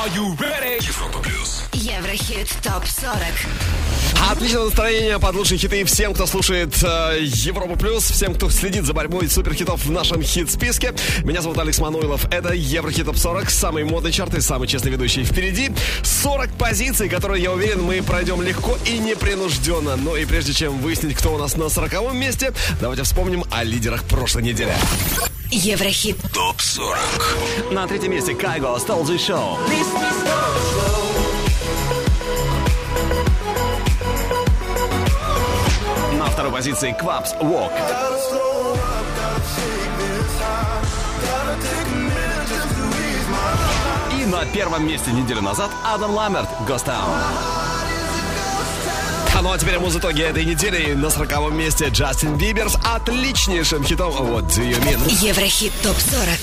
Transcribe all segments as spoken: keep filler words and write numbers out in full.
Are you ready? Европа плюс. Еврохит топ сорок. Отличное настроение под лучшие хиты всем, кто слушает э, Европу плюс, всем, кто следит за борьбой суперхитов в нашем хит-списке. Меня зовут Алекс Мануилов. Это Еврохит топ сорок, самый модный чарт и самый честный ведущий. Впереди сорок позиций, которые, я уверен, мы пройдем легко и непринужденно. Но и прежде чем выяснить, кто у нас на сороковом месте, давайте вспомним о лидерах прошлой недели. Еврохит топ сорок. На третьем месте Кайго, Stole the Show. На второй позиции Квапс, Walk. И на первом месте неделю назад Адам Ламберт, Ghost Town. Ну а теперь муз-итоги этой недели. На сороковом месте Джастин Бибер с отличнейшим хитом What Do You Mean. Еврохит топ сорок.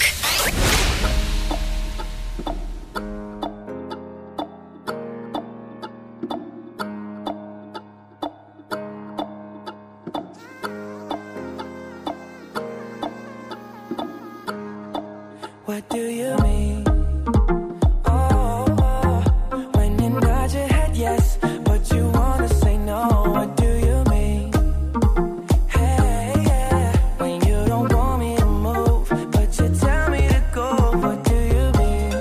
What do you mean? Oh, oh, when you nod your head yes, but you wanna say no. What do you mean? Hey, yeah, when you don't want me to move, but you tell me to go. What do you mean?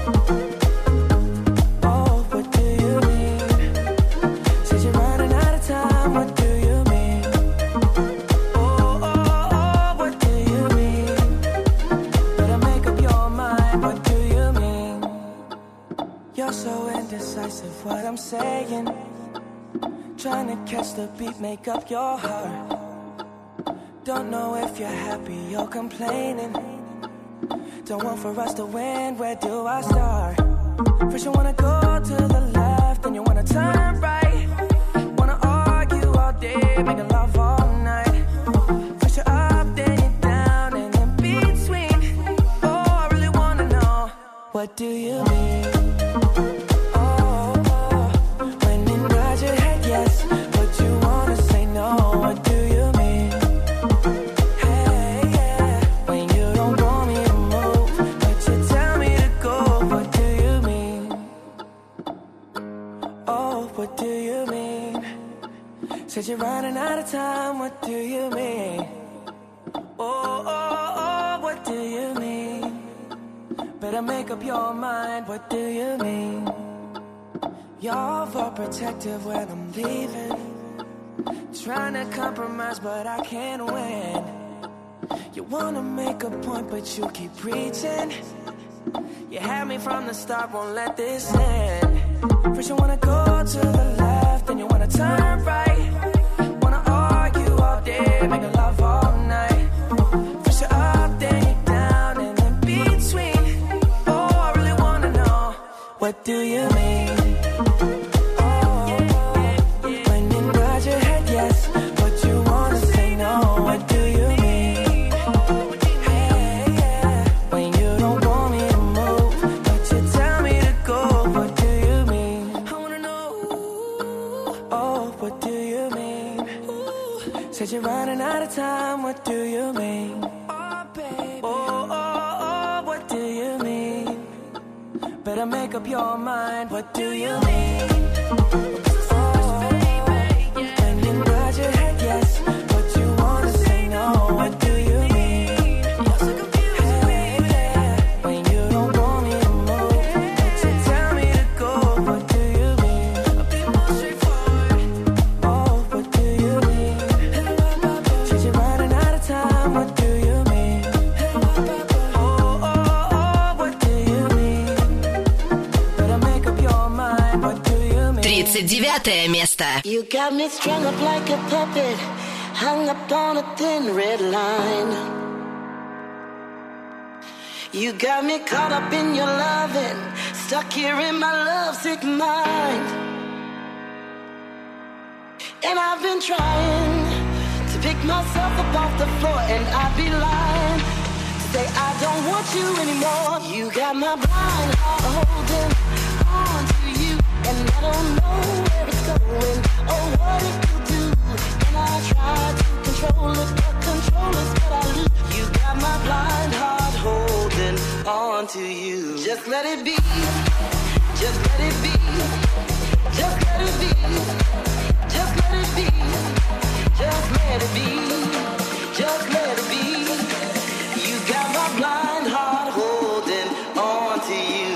Oh, what do you mean? Said you're running out of time. What do you mean? Oh, oh, oh, what do you mean? Better make up your mind. What do you mean? You're so indecisive. What I'm saying. Trying to catch the beat, make up your heart. Don't know if you're happy or complaining. Don't want for us to win, where do I start? First you wanna go to the left, then you wanna turn right. Wanna argue all day, making love all night. First you're up, then you're down, and in between. Oh, I really wanna know, what do you mean? Oh, oh, when you nod your head yes, but you wanna say no. What do you mean? Hey, yeah, when you don't want me to move, but you tell me to go. What do you mean? Oh, what do you mean? Said you're running out of time. What do you mean? Oh, oh, oh, what do you mean? Better make up your mind. What do you mean? You're overprotective when I'm leaving. Trying to compromise, but I can't win. You wanna make a point, but you keep preaching. You had me from the start, won't let this end. First you wanna go to the left, then you wanna turn right. Wanna argue all day, making love all night. First you're up, then you're down, and in between. Oh, I really wanna know, what do you mean? Oh, when you nod your head yes, but you wanna say no. What do you mean? Hey, yeah, when you don't want me to move, but you tell me to go. What do you mean? I wanna know. Oh, what do you mean? Said you're running out of time. What do you mean? Oh, baby. Oh, oh, oh, what do you mean? Better make up your mind. What do you mean? Oh, when you nod your head yes, but you wanna say no. What do you mean? Hey, yeah, when you don't want me to move, but you tell me to go. What do you mean? I'll be more straightforward. Oh, what do you mean? Said you're running out of time. What do you mean? Oh, oh, oh, what do you mean? Better make up your mind. What do you mean? тридцать девятое место. You got me strung up like a puppet, hung up on a thin red line. You got me caught up in your loving, stuck here in my lovesick mind. And I've been trying to pick myself up off the floor, and I'd be lying to say I don't want you anymore. You got my blind heart holding on to you, and I don't know where it's going or what it will do. And I try to control it, but control is what I lose. You got my blind heart holding on to you. Just let it be. Just let it be. Just let it be. Just let it be. Just let it be. Just let it be. You got my blind heart holding on to you.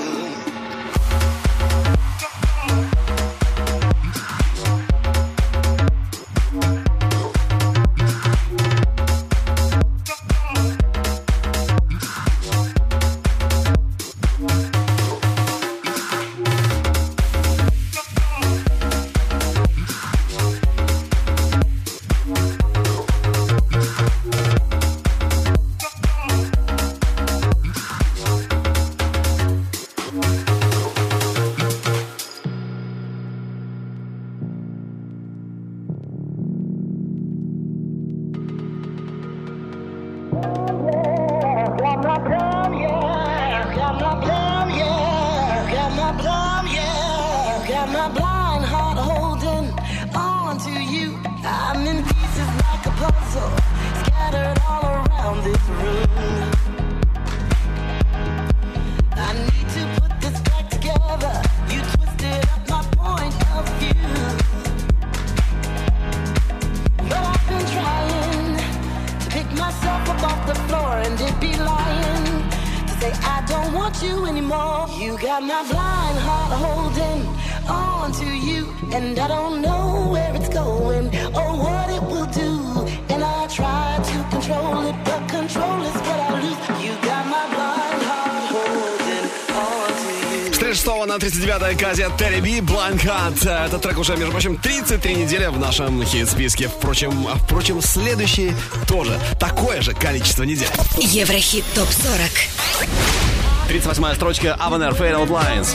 На тридцать девятой оказия Терри Би, Blind Heart. Этот трек уже, между прочим, тридцать три недели в нашем хит-списке. Впрочем, впрочем, следующий тоже такое же количество недель. Еврохит топ сорок. тридцать восьмая строчка Avaner Fade Out Lines.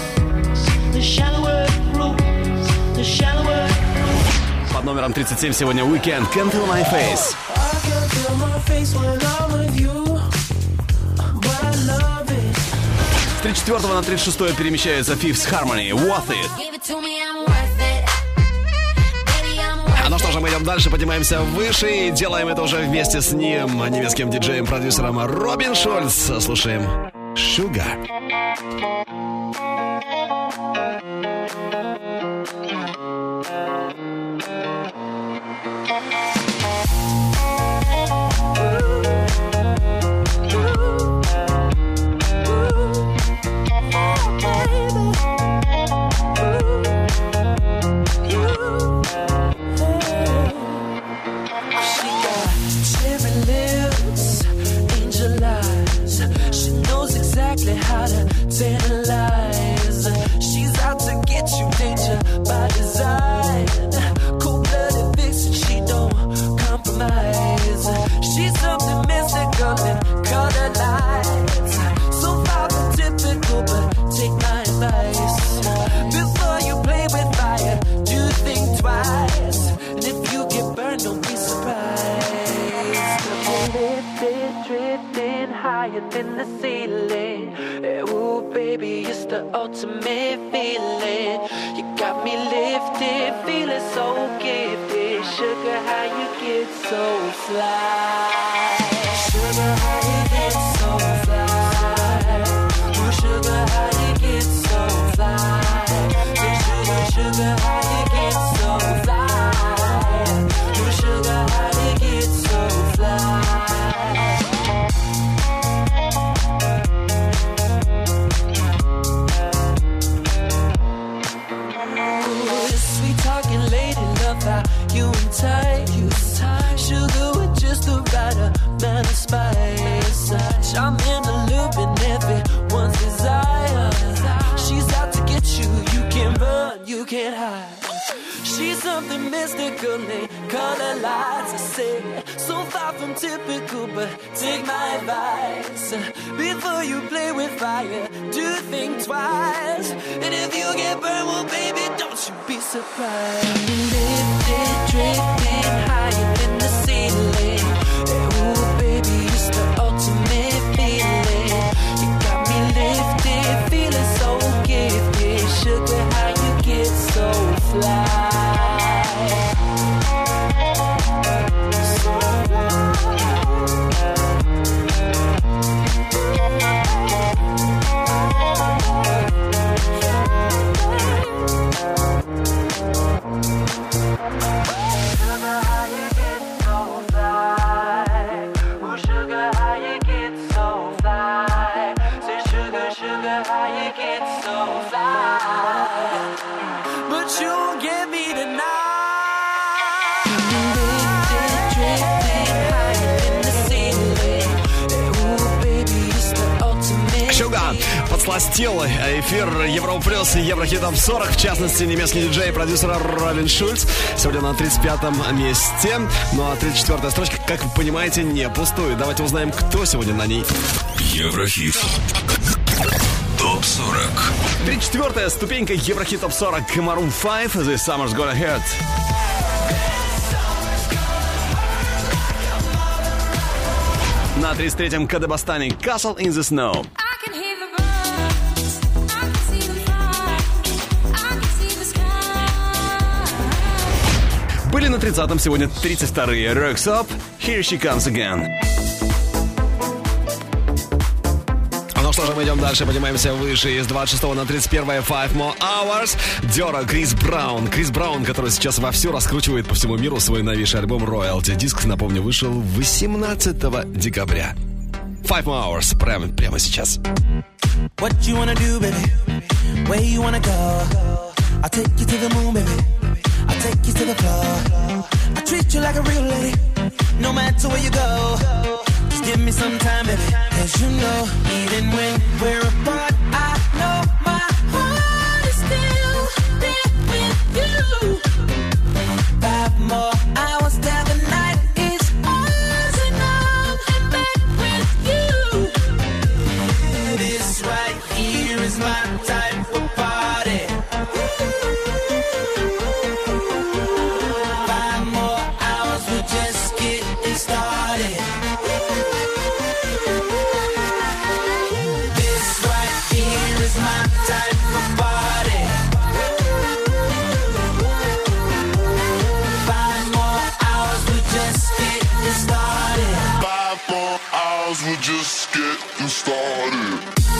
Под номером тридцать семь сегодня Weekend Can't Feel My Face. С тридцать четвёртого на тридцать шестое перемещается Fifth Harmony, Worth It. А ну что же, мы идем дальше, поднимаемся выше и делаем это уже вместе с ним, немецким диджеем-продюсером Робин Шульц. Слушаем Sugar. How to tantalize. She's out to get you, danger by design. Cold-blooded vixen, she don't compromise. She's something mystical and color lights. So far from typical, but take my advice. Before you play with fire, do think twice. And if you get burned, don't be surprised. Lifted, drifting higher than the ceiling. Ooh, baby, it's the ultimate feeling. You got me lifted, feeling so gifted. Sugar, how you get so fly? Sugar, how you get so fly? Ooh, sugar, how you get so fly? Sugar, sugar, how you get so fly? Ooh, sugar, how you get so fly? You and tight, you tight. Sugar with just the right amount of spice. Charming, allure, everyone's desire. She's out to get you. You can't run, you can't hide. She's something mystical in color lights. I say, so far from typical, but take my advice. Before you play with fire, do think twice. And if you get burned, well, baby, don't you be surprised. Lifted, drifting higher than the ceiling. Ooh, baby, it's the ultimate feeling. You got me lifted, feeling so gifted. Sugar, how you get so fly? So fly. make it so fly, but you won't get me tonight. Шуга подсластил эфир Европа Плюс и Еврохитов сорок, в частности, немецкий диджей и продюсер Робин Шульц. Сегодня на тридцать пятом месте. Ну а тридцать четвёртая строчка, как вы понимаете, не пустует. Давайте узнаем, кто сегодня на ней. Еврохит топ сорок. тридцать четвёртая ступенька Еврохит топ сорок. Maroon пять, This Summer's Gonna Hurt. На тридцать третьем Кадебостане Castle in the Snow. Были на тридцатом, сегодня тридцать вторые. Rocks Up, Here She Comes Again. Ну что же, мы идем дальше, поднимаемся выше. Из двадцать шестого на тридцать первое Five More Hours. Дёра, Крис Браун. Крис Браун, который сейчас вовсю раскручивает по всему миру свой новейший альбом Royalty. Диск, напомню, вышел восемнадцатого декабря. Five More Hours, прямо, прямо сейчас. What you wanna do, baby? Where you wanna go? I'll take you to the moon, baby. I'll take you to the floor. I treat you like a real lady, no matter where you go. Just give me some time, baby. Cause you know, even when we're apart, I know my heart is still there with you. Five more hours till the night is ours, and I'm in bed with you. This right here is my type of party. Five more hours, we're just getting started. This right here is my type of party. Five more hours, we're just getting started. Five more hours, we're just getting started.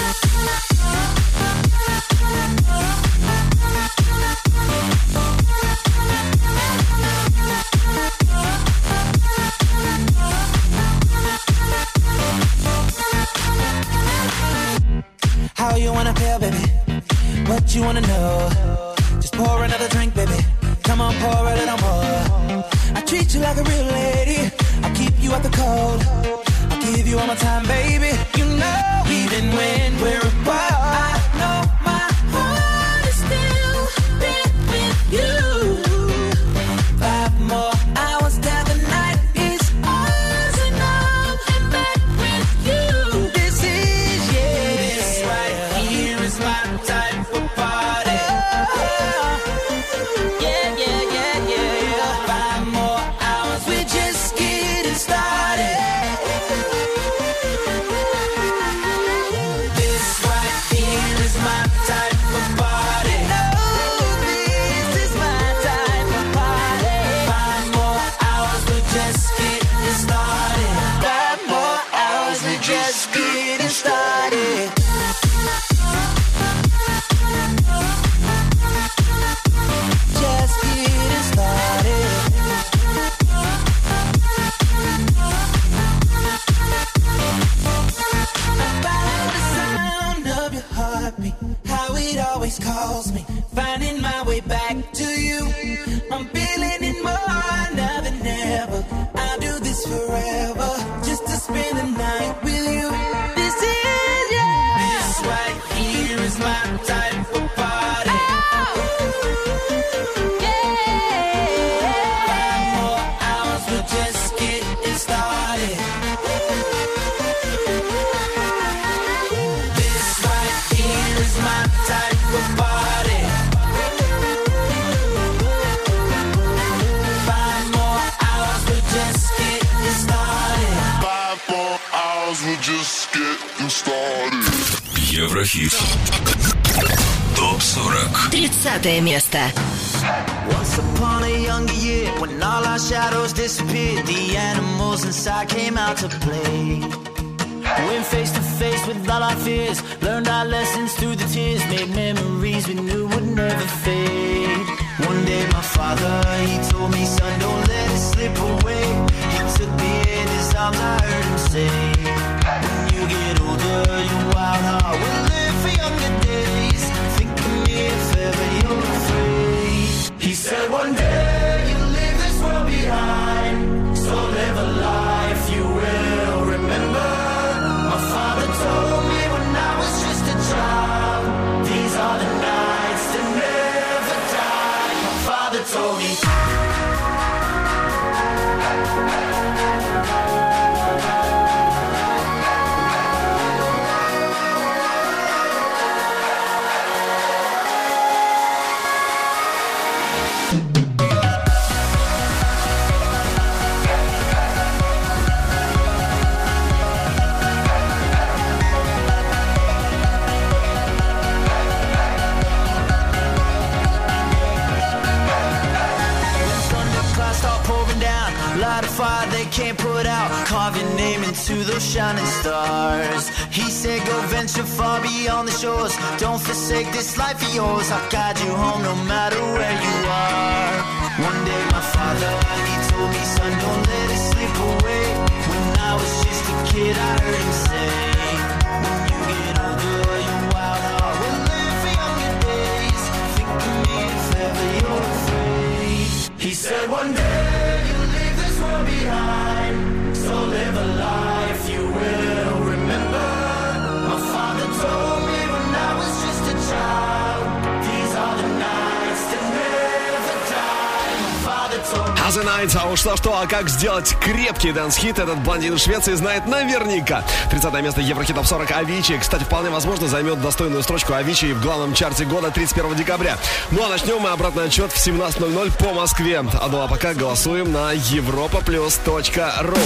How you wanna feel, baby? What you wanna know? Just pour another drink, baby. Come on, pour a little more. I treat you like a real lady. I'll keep you out the cold. I'll give you all my time, baby. You know, even when we're apart, I know my heart is still there with you. Five more hours till the night is ours, and I'm in bed with you. This is, yeah, this right here is my type of party. Yeah, yeah, yeah, yeah. Five more hours, we're just getting started. This right here is my type of party. No, this is my type of party. Five more hours, we're just getting started. Five more hours, we're just getting started. Just getting started. Follow the sound of your heartbeat, how it always calls me, finding my way back to you. I'm feeling it more now than ever. I'll do this forever, just to spend the night with you. This is, yeah. This right here is my type of party. Five more hours, we're just getting started. This right here is my type of party. Five more hours, we're just getting started. Five more hours, we're just getting started. Еврохит топ сорок. тридцатое место. Once upon a younger year, when all our shadows disappeared, the animals inside came out to play. Went face to face with all our fears, learned our lessons through the tears, made memories we knew would never fade. One day my father, he told me, son, don't let it slip away. He took me in his arms, I heard him say, when you get older, your wild heart will live for younger days. Can't put out, carve your name into those shining stars. He said go venture far beyond the shores, don't forsake this life of yours. I'll guide you home no matter where you are. One day my father, he told me, son, don't let it slip away. When I was just a kid I heard him say, when you get older your wild heart will live for younger days. Think of me if ever you're afraid. He said one day you'll leave this world behind, so live a life you will remember. My father told me when I was just a child, these are the nights that never die. My father told me. As a Night, а уж что-что, а как сделать крепкий дэнс-хит, этот блондин из Швеции знает наверняка. тридцатое место Еврохит Топ сорок Avicii. Кстати, вполне возможно, займет достойную строчку Avicii в главном чарте года тридцать первого декабря. Ну а начнем мы обратный отчет в семнадцать ноль ноль по Москве. А ну а пока голосуем на европа плюс точка ру.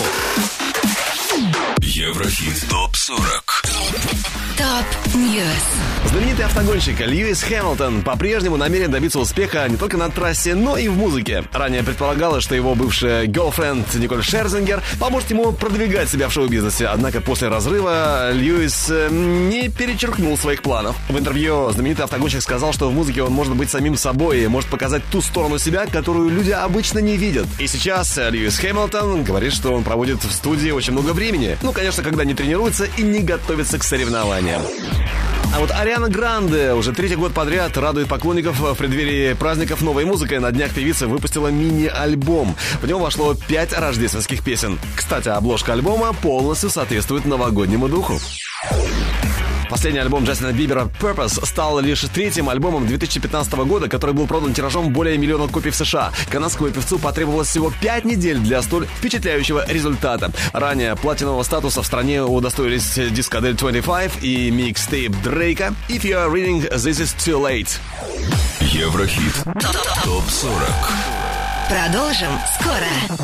Еврохит Топ сорок. Топ Ньюс. Знаменитый автогонщик Льюис Хэмилтон по-прежнему намерен добиться успеха не только на трассе, но и в музыке. Ранее предполагалось, что его бывшая girlfriend Николь Шерзингер поможет ему продвигать себя в шоу-бизнесе. Однако после разрыва Льюис не перечеркнул своих планов. В интервью знаменитый автогонщик сказал, что в музыке он может быть самим собой и может показать ту сторону себя, которую люди обычно не видят. И сейчас Льюис Хэмилтон говорит, что он проводит в студии очень много времени. Ну, конечно, когда не тренируется и не готовится к соревнованиям. А вот Ариана Гранде уже третий год подряд радует поклонников в преддверии праздников новой музыкой. На днях певица выпустила мини-альбом. В него вошло пять рождественских песен. Кстати, обложка альбома полностью соответствует новогоднему духу. Последний альбом Джастина Бибера «Purpose» стал лишь третьим альбомом две тысячи пятнадцатого года, который был продан тиражом более миллиона копий в США. Канадскому певцу потребовалось всего пять недель для столь впечатляющего результата. Ранее платинового статуса в стране удостоились дискадель двадцать пять и микстейп Дрейка «If You Are Reading This Is Too Late». Еврохит Топ сорок. Продолжим скоро.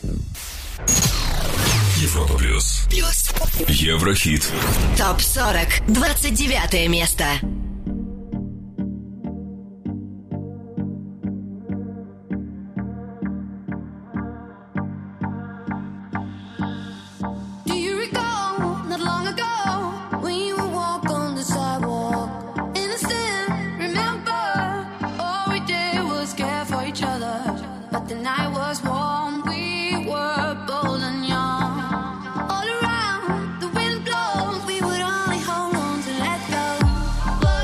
Европа плюс. Плюс. Еврохит. Топ сорок. двадцать девятое место. Whoa.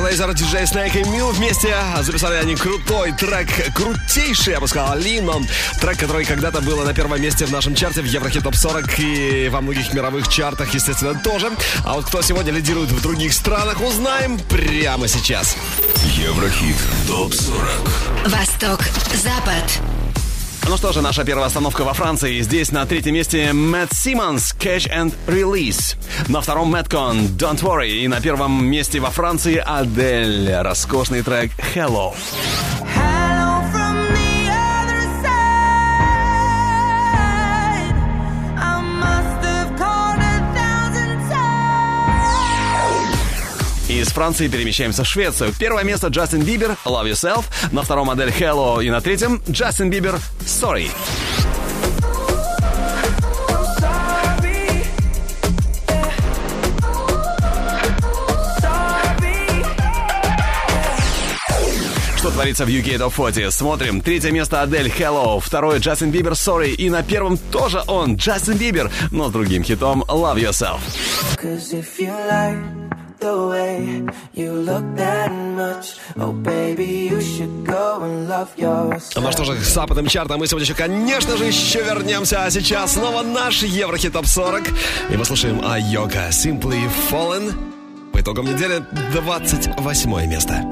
Фрейзер, диджей Снейк и Мил вместе записали они крутой трек, крутейший, я бы сказал, Lean On. Трек, который когда-то был на первом месте в нашем чарте в Еврохит Топ сорок и во многих мировых чартах, естественно, тоже. А вот кто сегодня лидирует в других странах, узнаем прямо сейчас. Еврохит Топ сорок. Восток, Запад. Ну что же, наша первая остановка во Франции. Здесь на третьем месте Мэтт Симмонс, Catch and Release. На втором Мэткон, Don't Worry. И на первом месте во Франции Адель. Роскошный трек Hello. Из Франции перемещаемся в Швецию. Первое место Джастин Бибер, Love Yourself. На втором Адель Hello. И на третьем Джастин Бибер, Sorry. Что творится в ю кей Top сорок? Смотрим. Третье место Адель Hello. Второе Джастин Бибер, Sorry. И на первом тоже он, Джастин Бибер, но с другим хитом Love Yourself. The way you look that much, oh baby, you should go and love yourself. Ну что же, к западным чартам мы сегодня еще, конечно же, еще вернемся. А сейчас снова наш Еврохит Топ сорок. И мы слушаем Айога, Simply Fallen. По итогам недели двадцать восьмое место.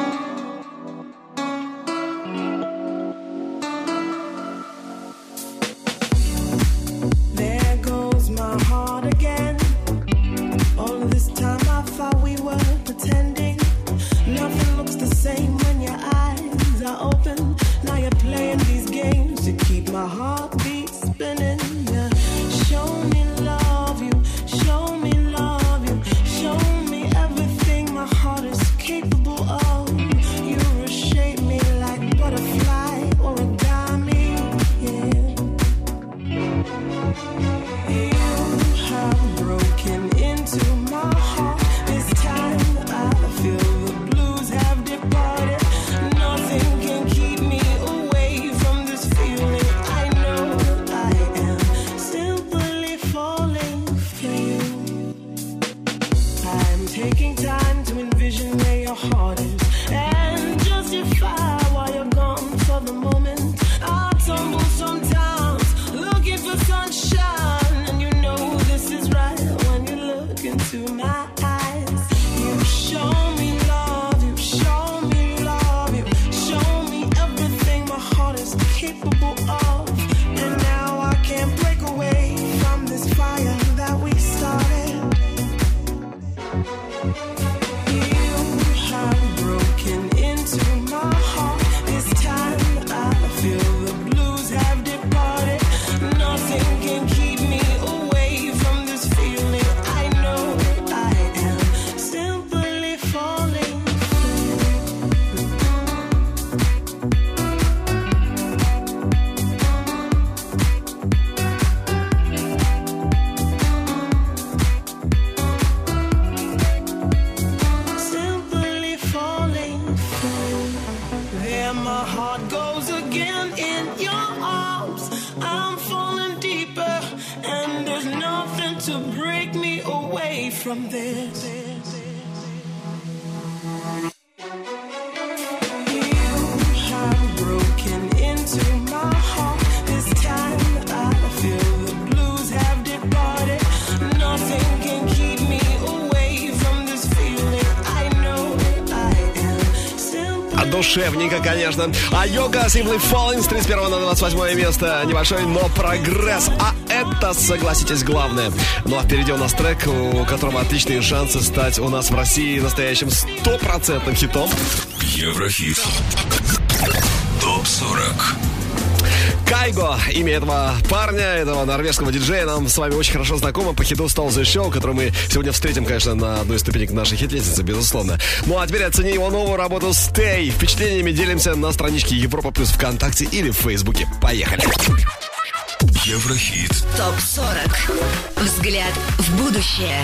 Душевненько, конечно. Айога, Simply Falling с тридцать первого на двадцать восьмое место. Небольшой, но прогресс. А это, согласитесь, главное. Ну а впереди у нас трек, у которого отличные шансы стать у нас в России настоящим стопроцентным хитом. Еврохит Топ сорок. Кайго, имя этого парня, этого норвежского диджея, нам с вами очень хорошо знакомо по хиту Stole the Show, который мы сегодня встретим, конечно, на одной из ступенек нашей хит-лестницы, безусловно. Ну а теперь оцени его новую работу Stay. Впечатлениями делимся на страничке Европа Плюс ВКонтакте или в Фейсбуке. Поехали! Еврохит Топ сорок. Взгляд в будущее.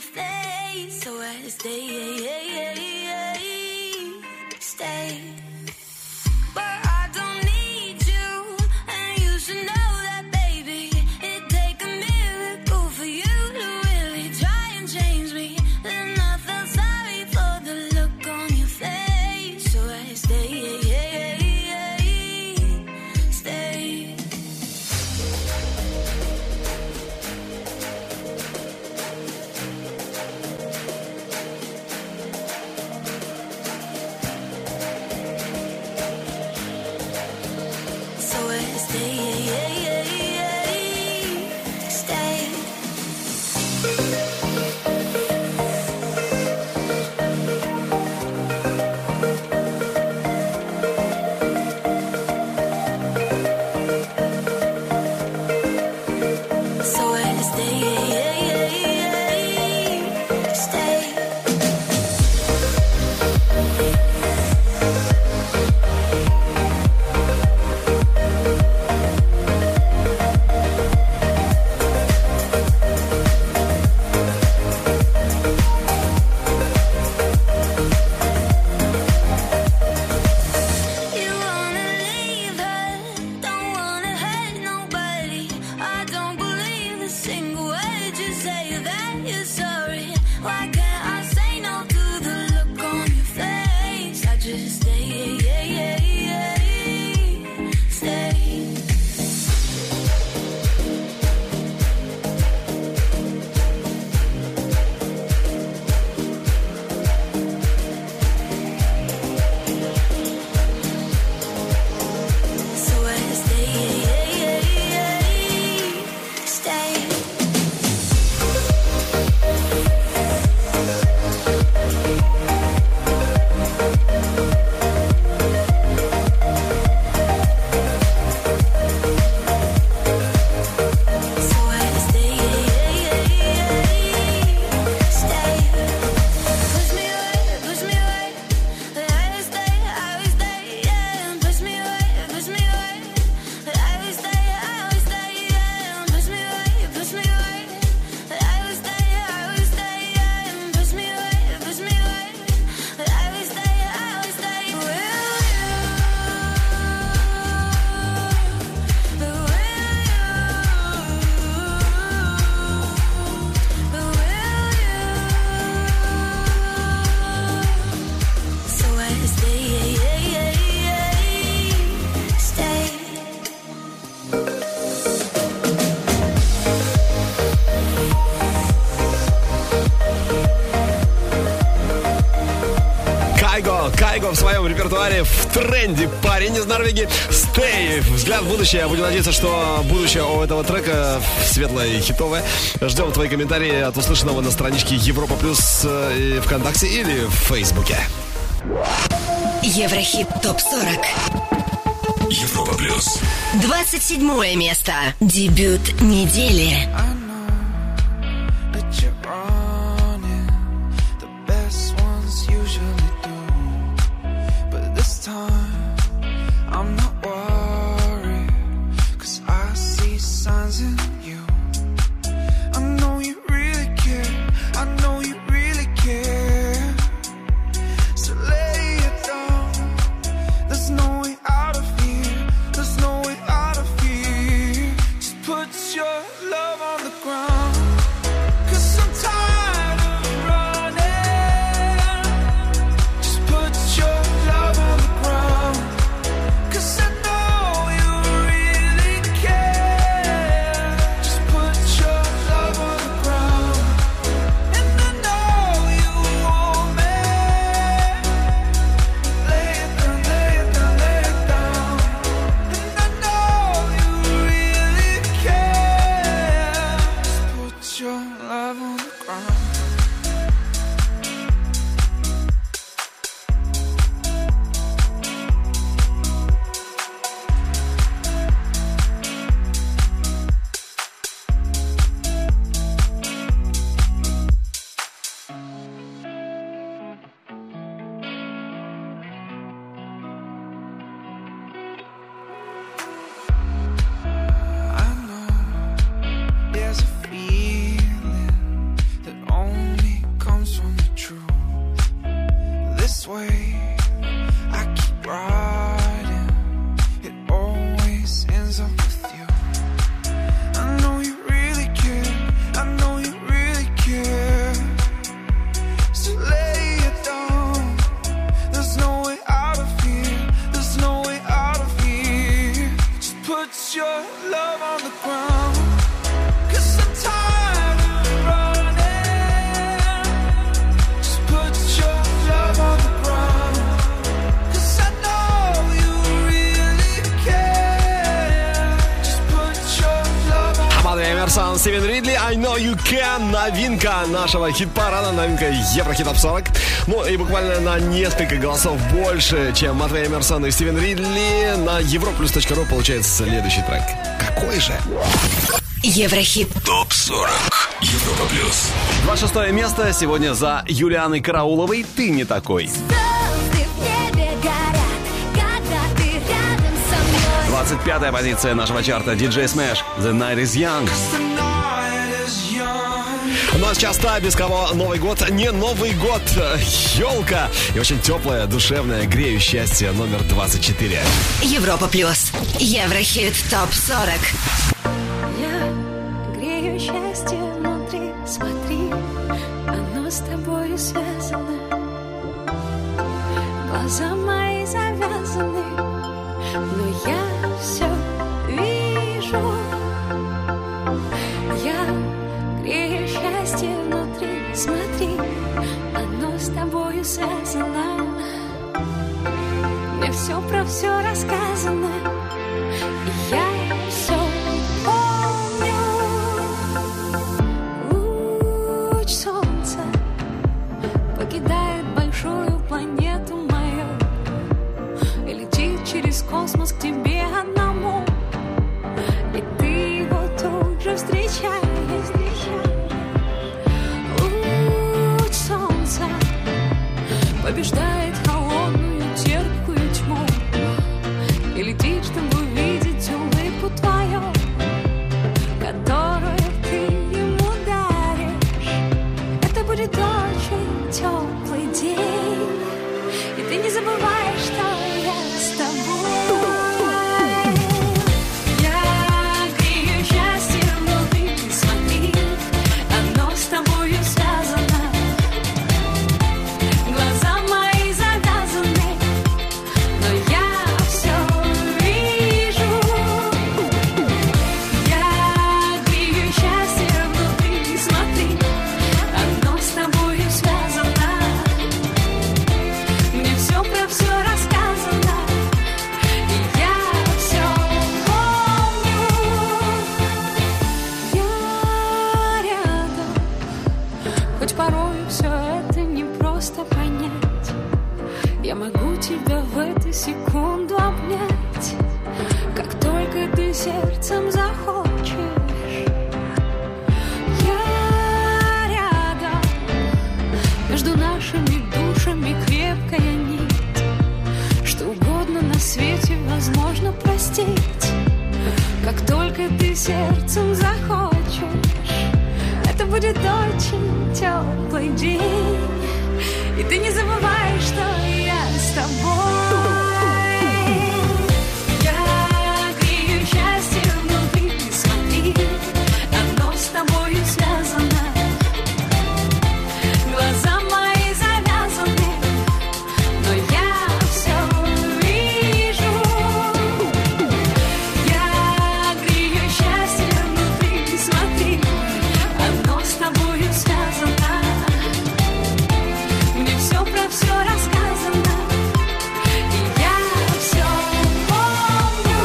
Stay, stay. Кайго в своем репертуаре в тренде. Парень из Норвегии Stay. Взгляд в будущее. Будем надеяться, что будущее у этого трека светлое и хитовое. Ждем твои комментарии от услышанного на страничке Европа Плюс ВКонтакте или в Фейсбуке. Еврохит топ сорок. Европа Плюс. двадцать седьмое место. Дебют недели. Стивен Ридли, I Know You Can, новинка нашего хит-парада, новинка Еврохит топ сорок. Ну и буквально на несколько голосов больше, чем Матвей Эмерсон и Стивен Ридли. На европлюс точка ру получается следующий трек. Какой же? Еврохит топ сорок. Европа Плюс. двадцать шестое место сегодня за Юлианой Карауловой «Ты не такой». двадцать пятая позиция нашего чарта ди джей Smash «The Night Is Young». Ну а сейчас та, без кого Новый год не Новый год. Елка. И очень теплая, душевная, грею счастье номер двадцать четыре. Европа Плюс. Еврохит топ сорок. Я грею счастье внутри, смотри, оно с тобой связано. Глаза мои завязаны, но я все вижу. Я грею счастье внутри, смотри, оно с тобою связано. Мне все про все рассказано, и я все помню. Луч солнца покидает покидает большую планету мою и летит через космос к тебе одному, и ты его тут же встречаешь. Луч солнца побеждает холодную терпкую тьму и летит, чтобы увидеть улыбку твою, которую ты ему даришь. Это будет очень теплый день, и ты не забываешь, что я с тобой. Я грею счастье внутри, смотри, оно с тобою связано. Глаза мои завязаны, но я все вижу. Я грею счастье внутри, смотри, оно с тобою связано. Мне все про все рассказано, и я все помню. Я рядом, хоть порой все это не просто понять. Я могу тебя в эту секунду обнять, как только ты сердцем захочешь. Я рядом, между нашими душами крепкая нить. Что угодно на свете возможно простить, как только ты сердцем захочешь. Это будет очень теплый день, и ты не забываешь, что я с тобой. Я грею счастье внутри, смотри, оно с тобою связано. Глаза мои завязаны, но я все вижу. Я грею счастье внутри, смотри, оно с тобою связано. Мне все про все рассказано, и я все помню.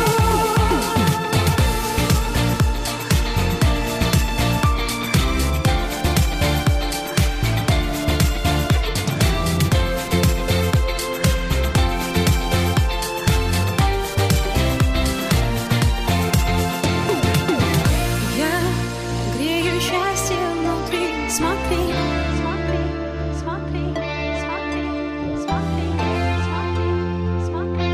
Я грею счастье внутри, смотри, смотри, смотри, смотри, смотри, смотри, смотри,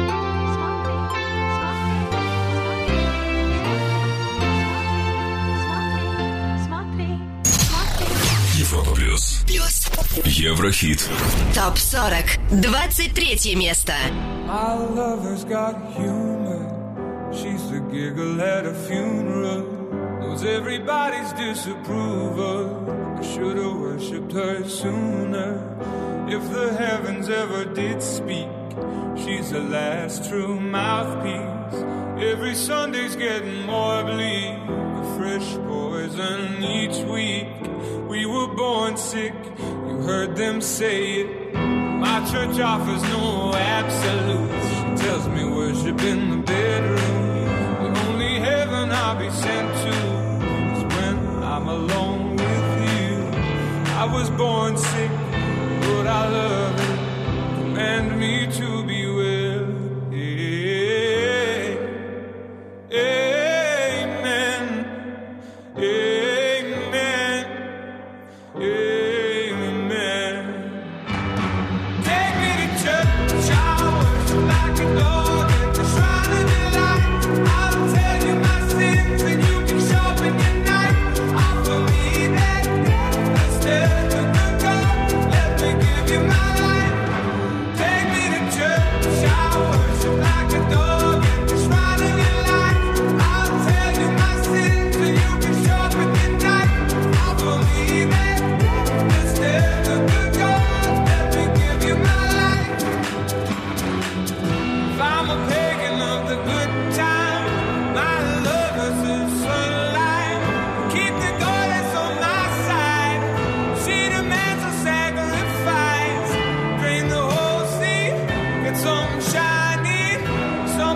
смотри, смотри, смотри. Европа плюс. Плюс. Еврохит. Топ сорок. двадцать третье место. My lover's got humor. She's the giggle at a funeral. Knows everybody's disapproval. I should've worshipped her sooner. If the heavens ever did speak, she's the last true mouthpiece. Every Sunday's getting more bleak, a fresh poison each week. We were born sick, you heard them say it. My church offers no absolutes. She tells me worship in the bedroom. The only heaven I'll be sent to is when I'm alone with you. I was born sick, but I love it. Command me to be well. Yeah. Amen. Amen. Amen. Take me to church, I worship like a dog at the shrine of your light. I'll tell you my sins and you can sharpen your knife. Offer me that instead of the God. Let me give you my life. Take me to church, I worship like a dog at the shrine of your light. I'll tell you my sins and you can sharpen your knife. Offer me that instead of the God. Let me give you my life. If I'm a pagan of the good time, my lover's the sunlight. Keep the goddess on my side. She demands a sacrifice. Drain the whole sea, get some shiny, some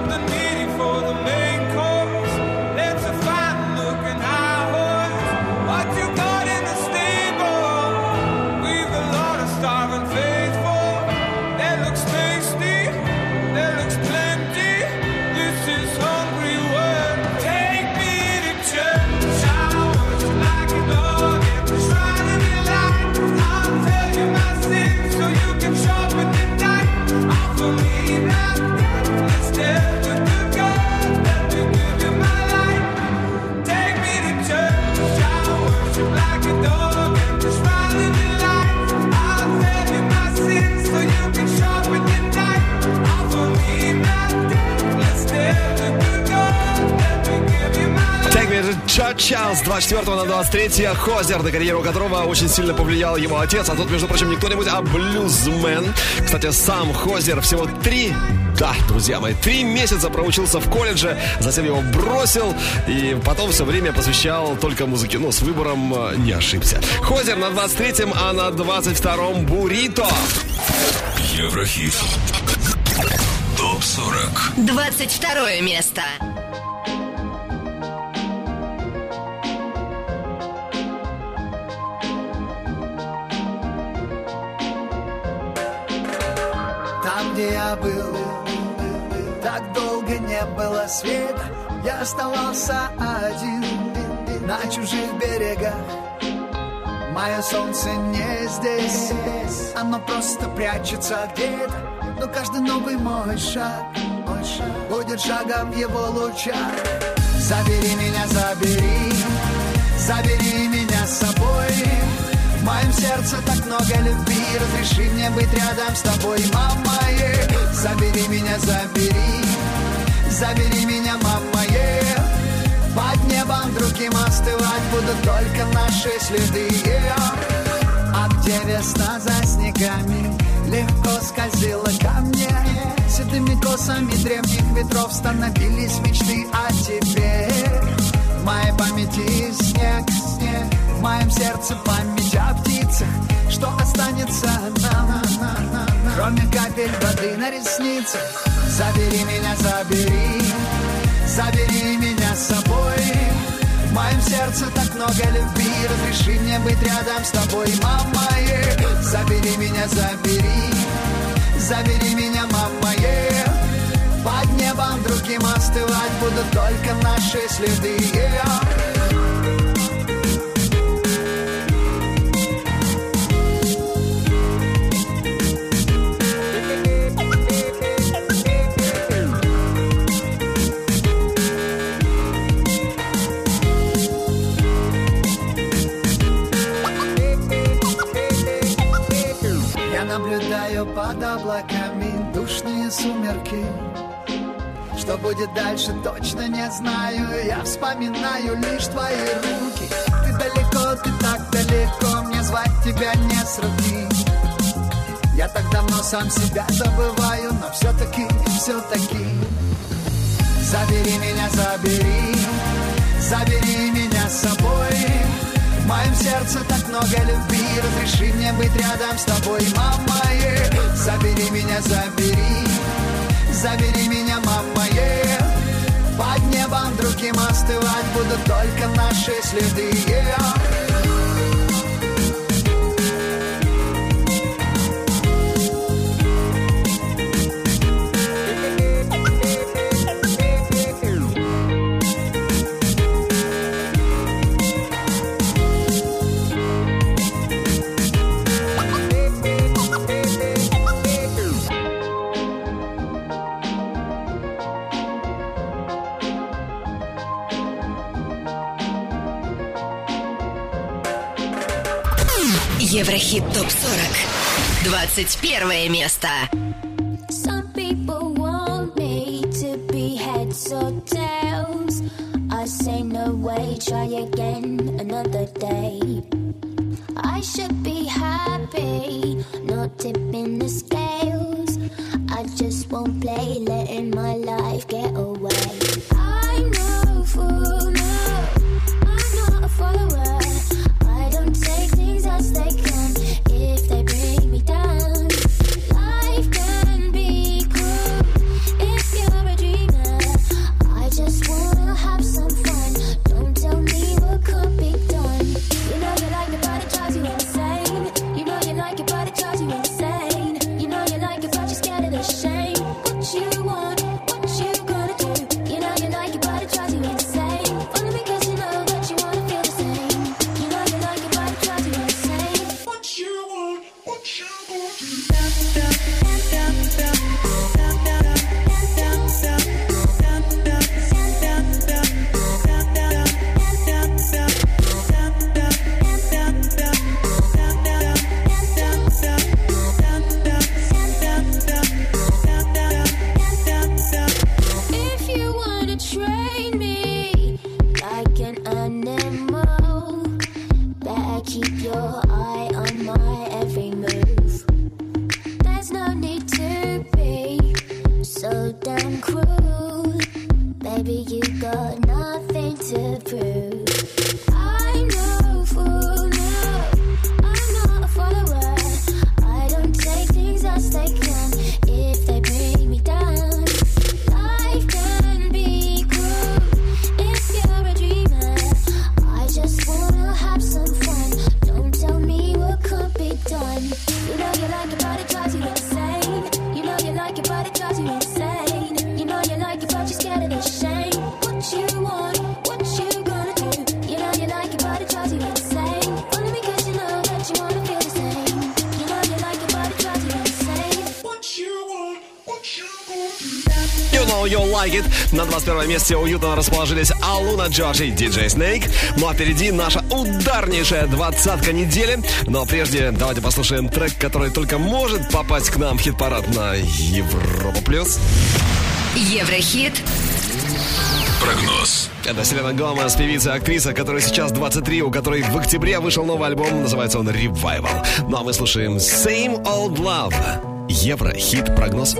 этот час, двадцать четвёртого на двадцать третье, Хозер, на карьеру которого очень сильно повлиял его отец, а тут, между прочим, не кто-нибудь, а блюзмен. Кстати, сам Хозер всего три, да, друзья мои, три месяца проучился в колледже, затем его бросил и потом все время посвящал только музыке. Ну, с выбором не ошибся. Хозер на двадцать третьем, а на двадцать втором Бурито. Еврохит. Топ сорок. двадцать второе место. Там, где я был, так долго не было света. Я оставался один на чужих берегах. Мое солнце не здесь, оно просто прячется где-то. Но каждый новый мой шаг, мой шаг будет шагом в его лучах. Забери меня, забери, забери меня с собой. В моем сердце так много любви, разреши мне быть рядом с тобой, мама. Yeah. Забери меня, забери, забери меня, мама. Yeah. Под небом другим остывать будут только наши следы. Yeah. А где весна за снегами легко скользила ко мне, седыми косами древних ветров становились мечты о тебе. В моей памяти снег, снег, в моем сердце память о птицах. Что останется нам, на, на, на, на, кроме капель воды на ресницах? Забери меня, забери, забери меня с собой. В моем сердце так много любви, разреши мне быть рядом с тобой, мама. Yeah. Забери меня, забери, забери меня, мама. Yeah. Под небом другим остывать будут только наши следы. Yeah. Наблюдаю под облаками душные сумерки. Что будет дальше, точно не знаю. Я вспоминаю лишь твои руки. Ты далеко, ты так далеко, мне звать тебя не сравнить. Я так давно сам себя забываю, но все-таки, все-таки забери меня, забери, забери меня с собой. В моем сердце так много любви, разреши мне быть рядом с тобой, мама. Yeah. Забери меня, забери, забери меня, мама. Yeah. Под небом другим остывать будут только наши следы. Yeah. Еврохит топ сорок. двадцать первое место. Some people want me to be heads or tails. I say no way, try again another day. I should be happy, not tipping the scales. I just won't play, letting my life get away. I'm no fool, no, I'm not a follower. I don't take things as they come if they bring me down. Life can be cruel if you're a dreamer. I just wanna have some fun. Don't tell me what can't be done. You know you like it, but it drives you insane. You know you like it, but it drives you insane. You know you like it, but you're scared of the shame. What you want, what you gonna do? You know you like it, but it drives you insane. Only because you know that you wanna feel the same. You know you like it, but it drives you insane. What you want, what you gonna do? If you wanna train me like an animal, How You Like It. На двадцать первом месте уютно расположились Алуна Джордж и диджей Snake. Ну а впереди наша ударнейшая двадцатка недели. Но прежде давайте послушаем трек, который только может попасть к нам в хит-парад на Европа Плюс. Еврохит. Прогноз. Это Селена Гомес, певица и актриса, которой сейчас двадцать три, у которой в октябре вышел новый альбом, называется он Revival. Ну а мы слушаем Same Old Love. Еврохит прогноз.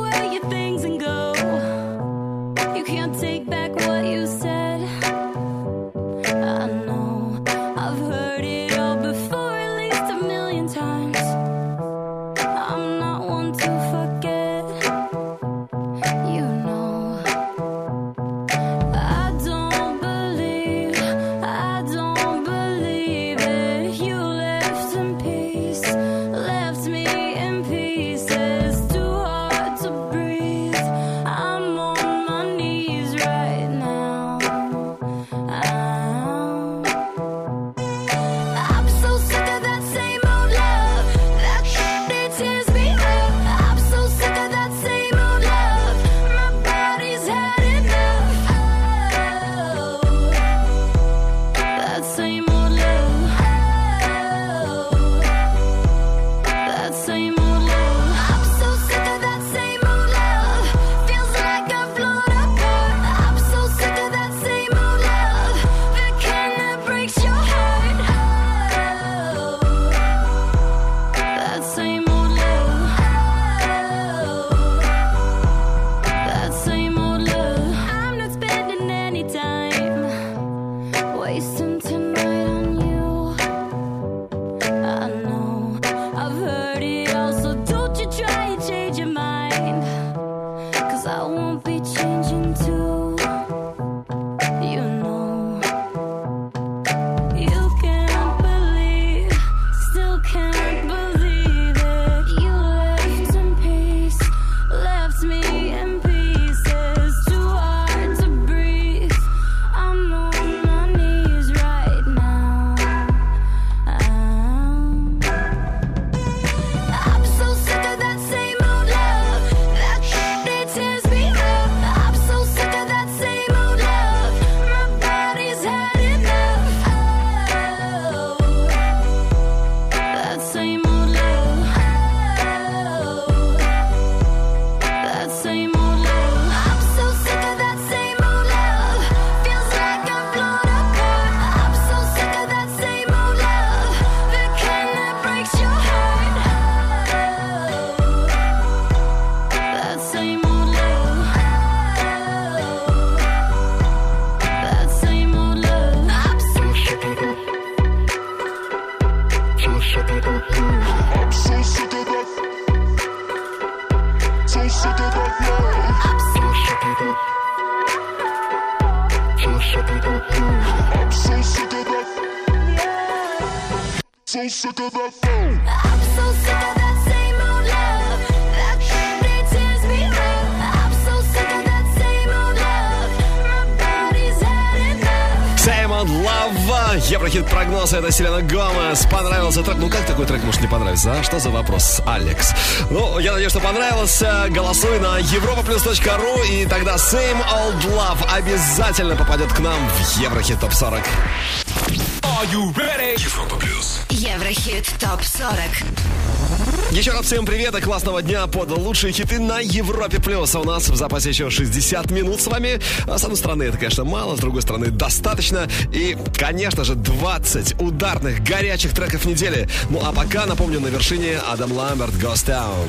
so sick of that phone. I'm so sick of that same old love. That thing tears me up. I'm so sick of that same old love. My body's had enough. Same Old Love. Еврохит прогноз. Это Селена Гомес. Понравился трек? Ну как такой трек может не понравиться? А что за вопрос, Алекс? Ну, я надеюсь, что понравился. Голосуй на европа плюс точка ру, и тогда Same Old Love обязательно попадет к нам в Еврохит топ сорок. Are you ready? Европа плюс. Еврохит топ сорок. Еще раз всем привет и классного дня под лучшие хиты на Европе плюс. А у нас в запасе еще шестьдесят минут с вами. С одной стороны, это, конечно, мало, с другой стороны, достаточно. И, конечно же, двадцать ударных, горячих треков недели. Ну а пока, напомню, на вершине Адам Ламберт «Ghost Town».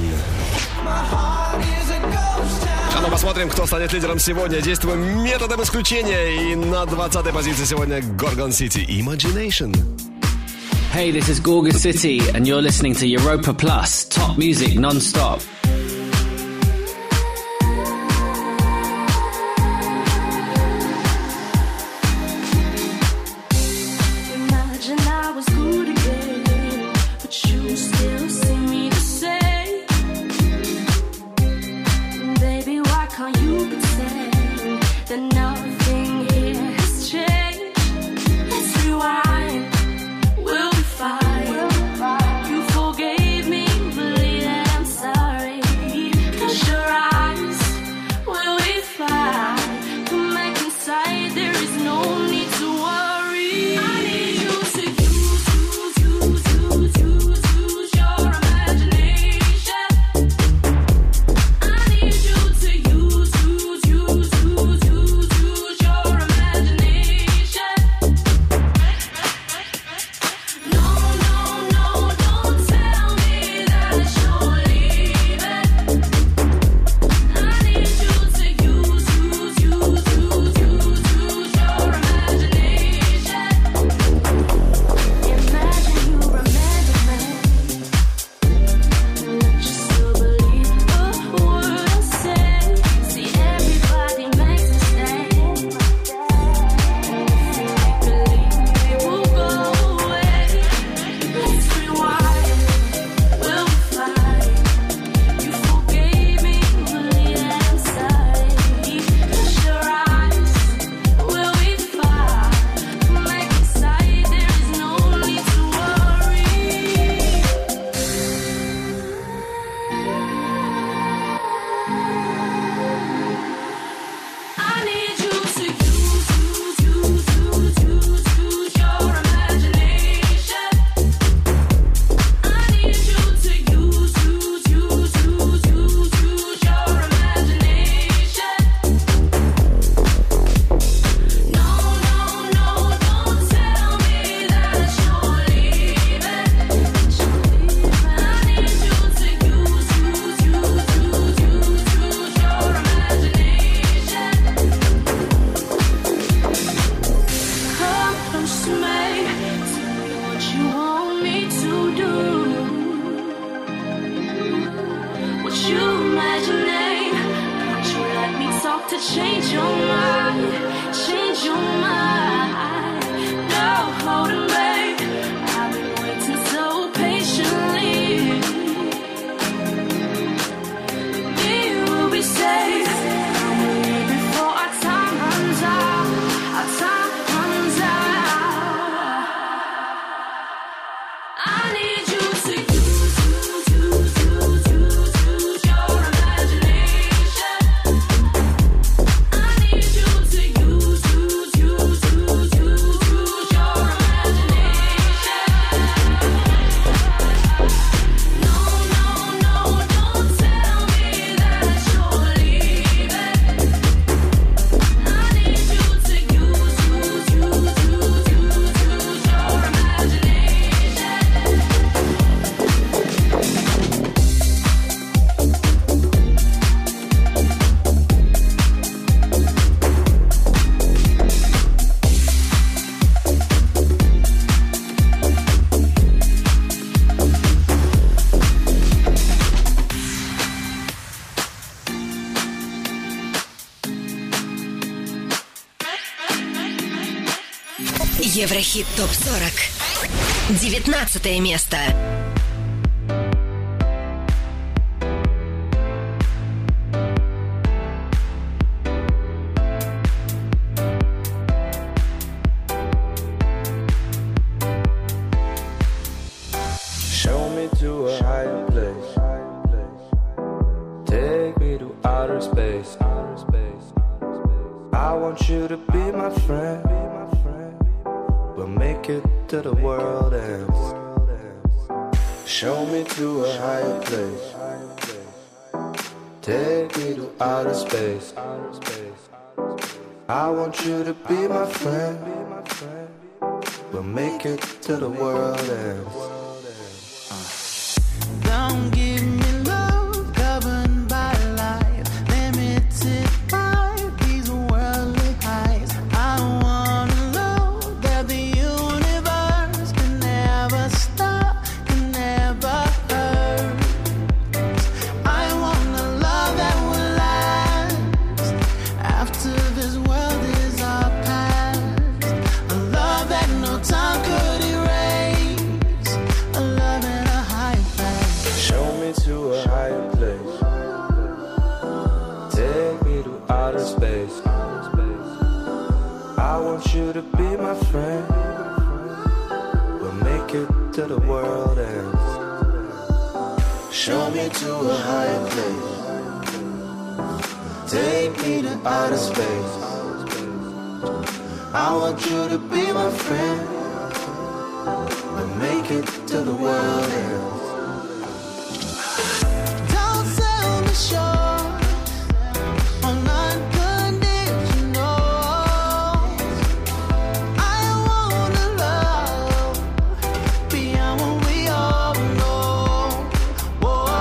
А ну посмотрим, кто станет лидером сегодня. Действуем методом исключения. И на двадцатой позиции сегодня Gorgon City Imagination. Hey, this is Gorgon City, and you're listening to Europa Plus, top music non-stop. Imagine I was good again, but you still see me the same. Baby, why can't you pretend that nothing here has changed? Let's rewind. We'll be fine. You forgave me, believe that I'm sorry. you imagine? Can't you let me talk to change your mind? Change your mind. No holding back. I've been waiting so patiently. We will be safe. Before our time runs out. Our time runs out. I need you to use, use, use, use, use, use your imagination. I need you to use, use, use, use, use, use your imagination. No, no, no, don't tell me that you're leaving. I need you to use, use, use, use, use, use your imagination. Еврохит топ сорок. Девятнадцатое место. Show me to a higher place. Take me to outer space. I want you to be my friend. We'll make it to the world ends. Show me to a higher place. Take me to outer space. I want you to be my friend. We'll make it to the world ends. Don't give me love governed by life, limited by these worldly highs. I wanna know that the universe can never stop, can never hurt. I want a love that will last after this world is our past. A love that no time could erase. A love in a high place. Show me to a higher place. Take me to outer space. I want you to be my friend. We'll make it to the world ends. Show me to a higher place. Take me to outer space. I want you to be my friend. We'll make it to the world ends. Don't sell me short on unconditional. I wanna love beyond what we all know. Whoa,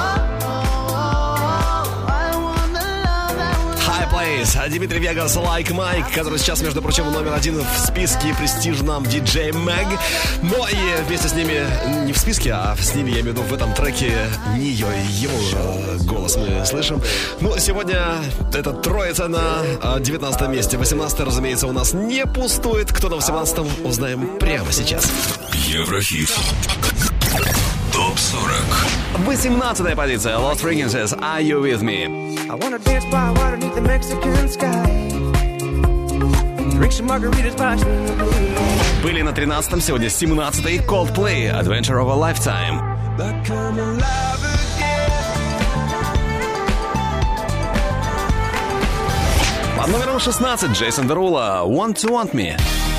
I wanna love that will High Place. Дмитрий Вегас, Like Mike, который сейчас, между прочим, номер один в списке престижном ди джей Mag. Но и вместе с ними, не в списке, а с ними, я имею в виду, в этом треке Нио, его э, голос мы слышим. Ну, сегодня эта троица на э, девятнадцатом месте. восемнадцатое, разумеется, у нас не пустует. Кто на восемнадцатом, узнаем прямо сейчас. Еврохит. Топ сорок. восемнадцатая позиция. Lost Frequencies, Are You With Me? I wanna dance by water beneath the Mexican sky. Drink some margaritas by the blue. Были на тринадцатом, сегодня семнадцатый. Coldplay, Adventure of a Lifetime. Like I'm alive again. Под номером шестнадцать Джейсон Дерула, Want to Want Me.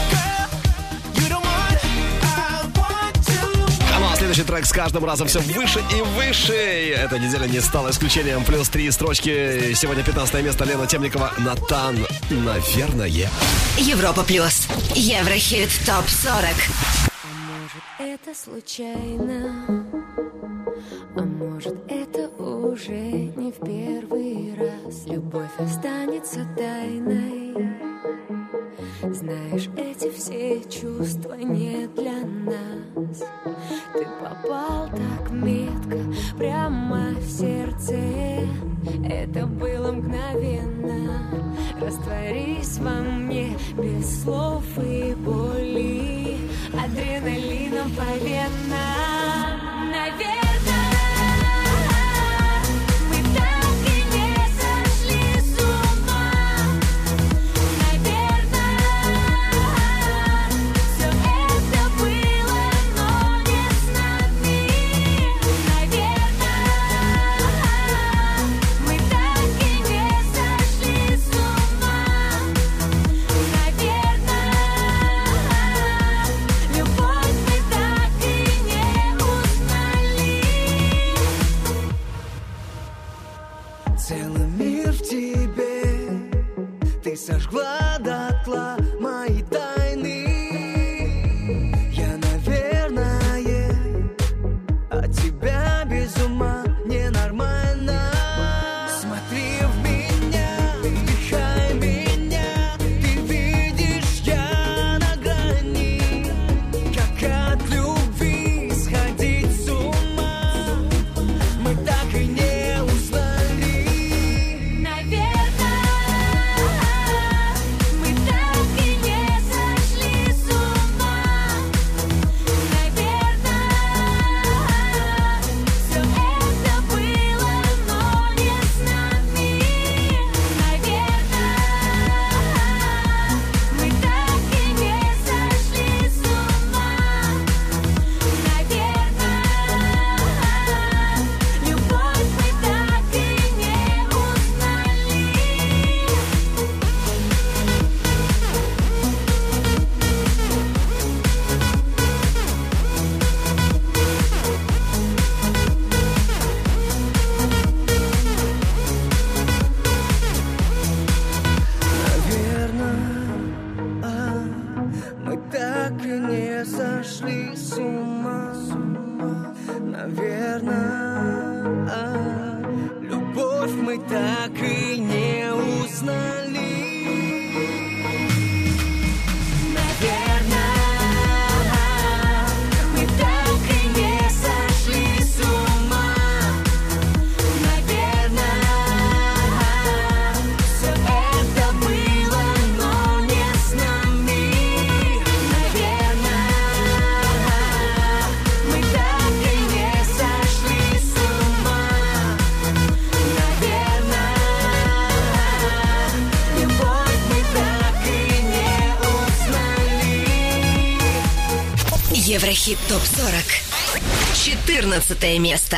Ну а следующий трек с каждым разом все выше и выше. Эта неделя не стала исключением. Плюс три строчки. Сегодня пятнадцатое место. Лена Темникова, Натан, наверное. Европа плюс. Еврохит топ сорок. Может, это случайно, а может, это уже не в первый раз. Любовь останется тайной, Знаешь, эти все чувства не для нас. Ты попал так метко прямо в сердце. Это было мгновенно. Растворись во мне без слов и боли, адреналином по венам. Наверное, мы так и не сошли с ума. Наверное, все это было, но не с нами. Наверное, мы так и не сошли с ума. Наверное, любовь мы так и не узнали. Целый мир в тебе, ты сожгла дотла мои тайны. Я, наверное, от тебя без ума ненормально. Смотри в меня, вдыхай меня, ты видишь, я на грани. Как от любви сходить с ума, мы так и не узнали. Наверное, мы так и не сошли с ума. Наверное, все это было, но не с нами. Наверное, мы так и не сошли с ума. Наверное, любовь мы так и не узнали. Наверное, а, мы так и не сошли с ума. Наверное, а, любовь мы так и не узнали. Наверное, мы так и не сошли с ума. Наверное, все это было, но не с нами. Наверное, мы так и не сошли с ума. Наверное, любовь мы так и не узнали. Еврохит топ сорок. четырнадцатое место.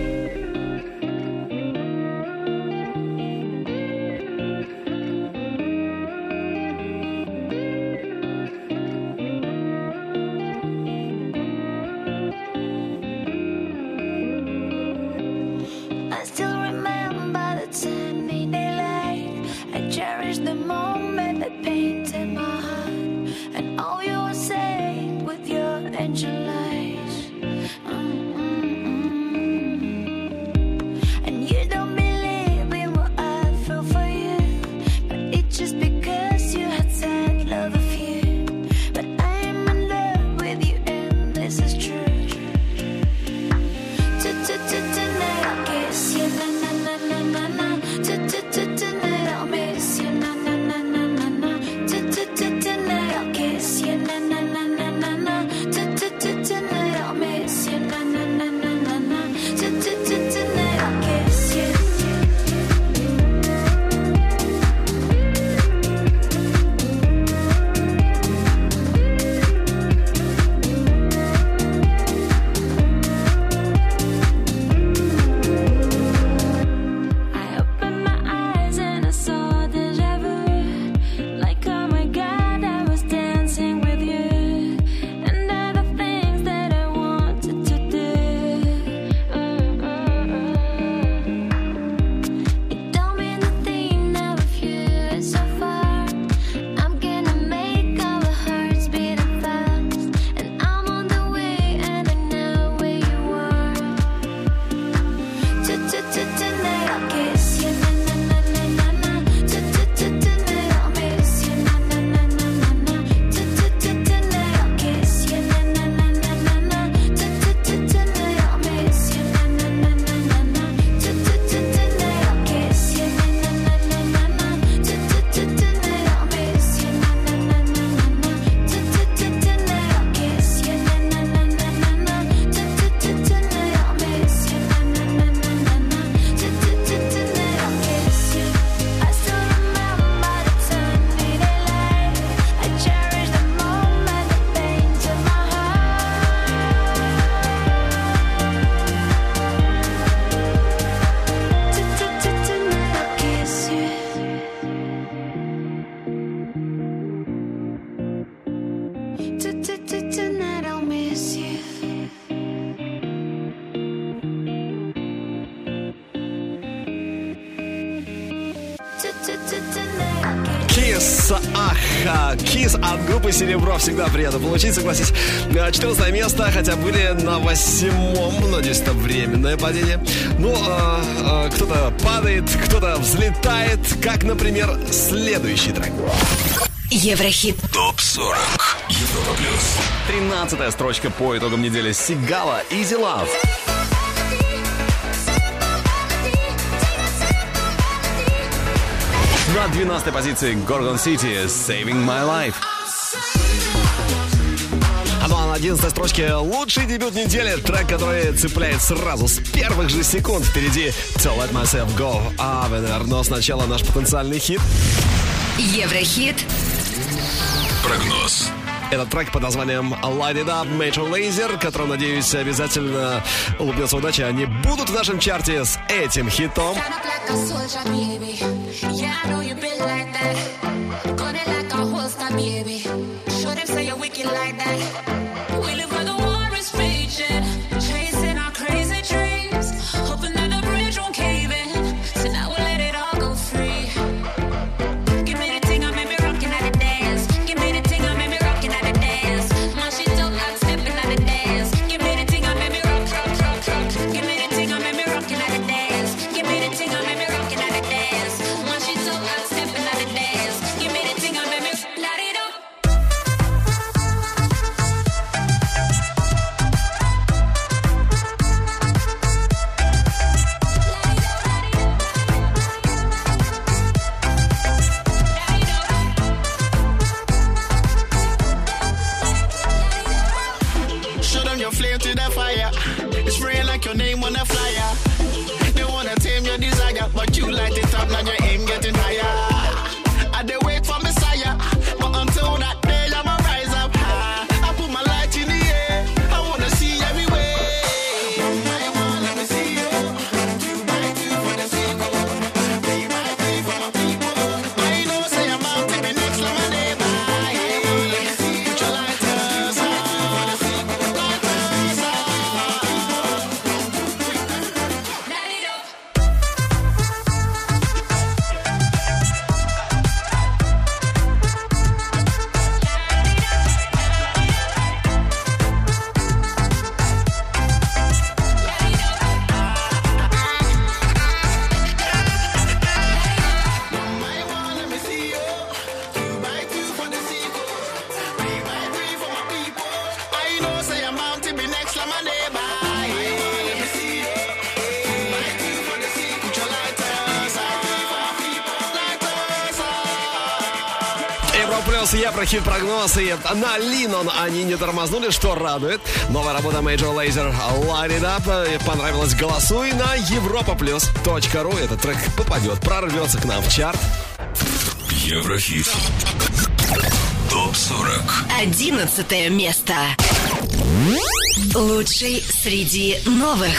I still remember the time we delayed. I cherish the moment that painted my heart, and all you were saying with your angel eyes. Mm-mm-mm. And you don't believe in what I feel for you, but it's just because you had said love of you. But I am in love with you, and this is true. Tonight I'll kiss you the Kiss, ах, Kiss от группы «Серебро» всегда приятно получить, согласись. четырнадцатое место, хотя были на восьмом, надеюсь, это временное падение. Ну, а, а, кто-то падает, кто-то взлетает, как, например, следующий трек. Еврохит. Топ сорок. Европа плюс. тринадцатая строчка по итогам недели. Сигала, Easy Love. На двенадцатой позиции Gorgon City, Saving My Life. А ну а на одиннадцатой строчке лучший дебют недели. Трек, который цепляет сразу с первых же секунд. Впереди To Let Myself Go, Avener. Но сначала наш потенциальный хит. Еврохит. Прогноз. Этот трек под названием Light It Up, Major Lazer, который, надеюсь, обязательно улыбнется удача. Они будут в нашем чарте с этим хитом. Еврохит-прогноз, и на Линон они не тормознули, что радует. Новая работа Major Lazer Light It Up. Понравилось? Голосуй на европа плюс точка ру. Этот трек попадет, прорвется к нам в чарт. Еврохит. Топ сорок. Одиннадцатое место. Лучший среди новых.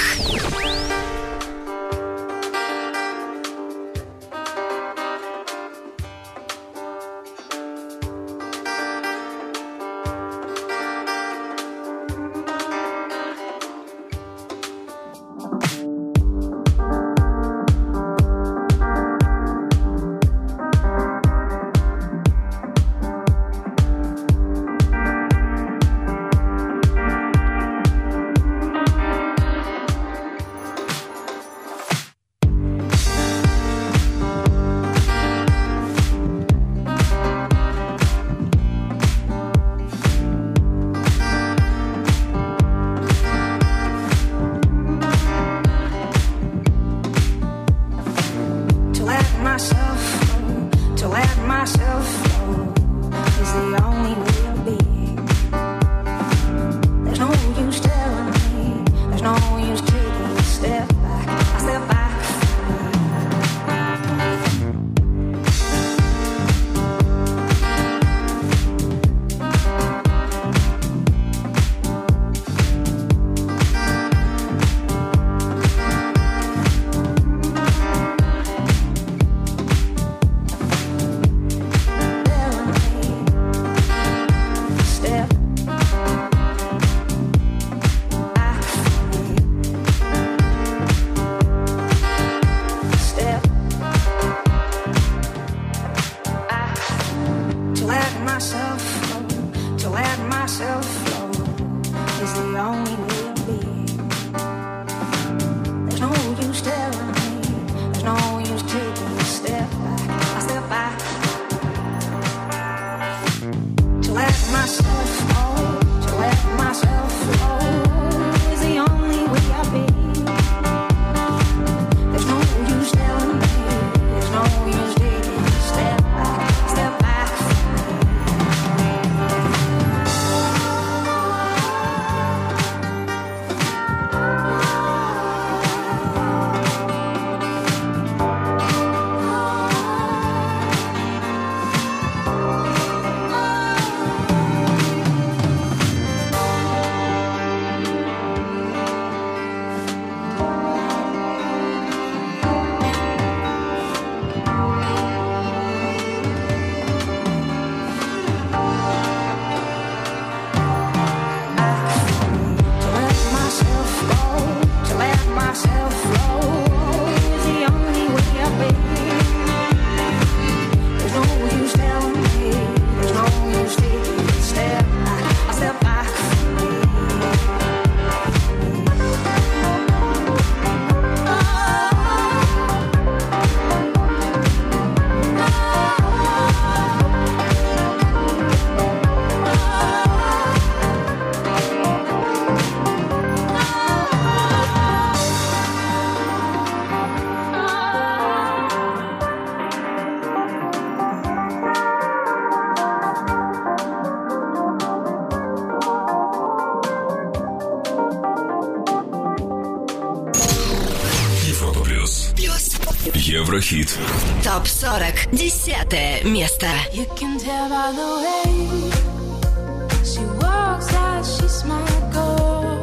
плюс. Еврохит. Топ сорок. Десятое место. You can tell by the way she walks out, she's my girl.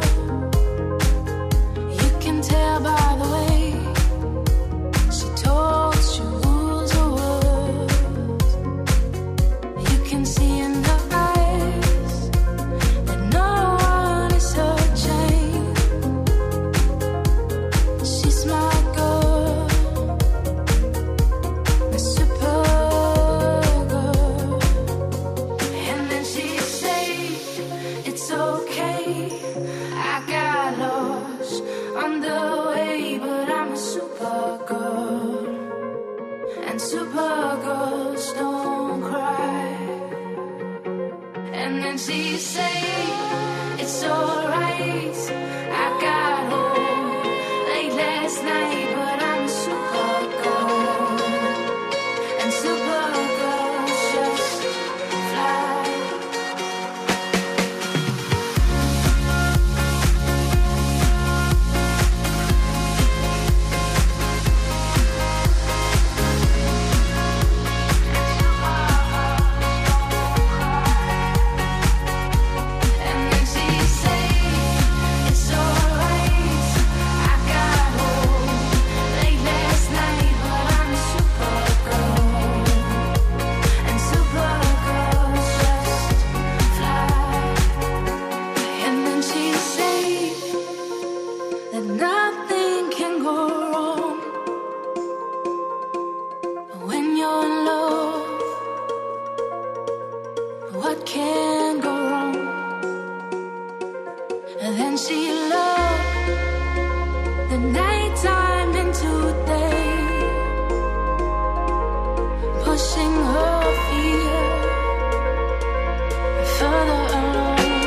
You can tell by the way she talks, she rules her words. You can see in her eyes that no one is her chain. She's my girl, my super girl. And then she say it's okay, I got lost on the way, but I'm a super girl, and super girls don't cry. And then she say it's alright, I got home late last night, but I'm a super girl, and super girls just fly. And then she say it's alright, I got home late last night, but I'm a super girl, and super girls just fly. And then she say that nothing can go wrong when you're in love. What can go wrong? And then she loved the nighttime into day, pushing her fear further along.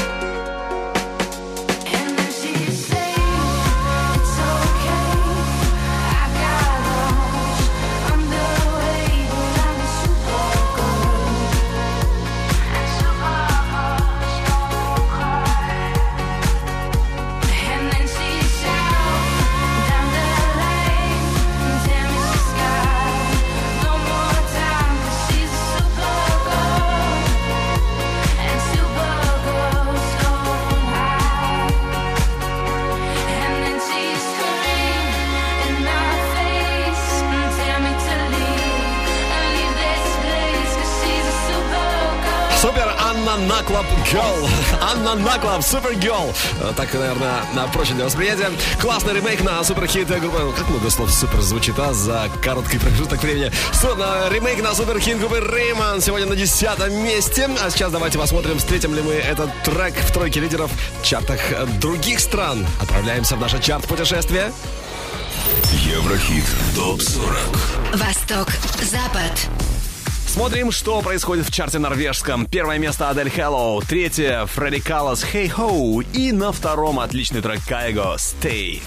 And then she say it's okay, I got lost on the way, but I'm a super girl, and super girls don't cry. And then she shout down the lane, tell me she's got no more time, 'cause she's a super girl, and super girls don't hide. And then she scream in my face, tell me to leave, and leave this place, 'cause she's a super girl. Супер Анна Наклаб Girl. Анна Наклаб Супер Girl. Так, наверное, на проще для восприятия. Классный ремейк на суперхит группы. Ну, как много слов супер звучит, а, за короткий промежуток времени. Су- на- Ремейк на суперхит группы Rayman сегодня на десятом месте. А сейчас давайте посмотрим, встретим ли мы этот трек в тройке лидеров в чартах других стран. Отправляемся в наше чарт-путешествие. Еврохит. Топ сорок. Восток, Запад. Смотрим, что происходит в чарте норвежском. Первое место Адель Hello, третье Фредди Каллас Hey Ho и на втором отличный трек Кайго Stay.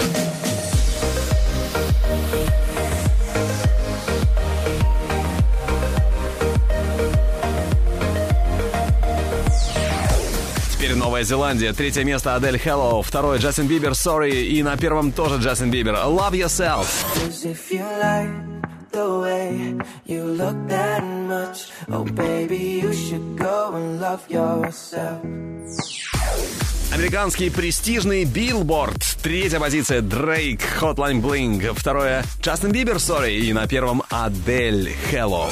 Теперь Новая Зеландия. Третье место Адель Hello, второе Джастин Бибер Sorry и на первом тоже Джастин Бибер Love Yourself. Cause if you like the way you look that much, oh baby, you should go and love yourself. Американский престижный Billboard. Третья позиция Drake Hotline Bling. Второе Джастин Бибер Sorry и на первом Адель Hello.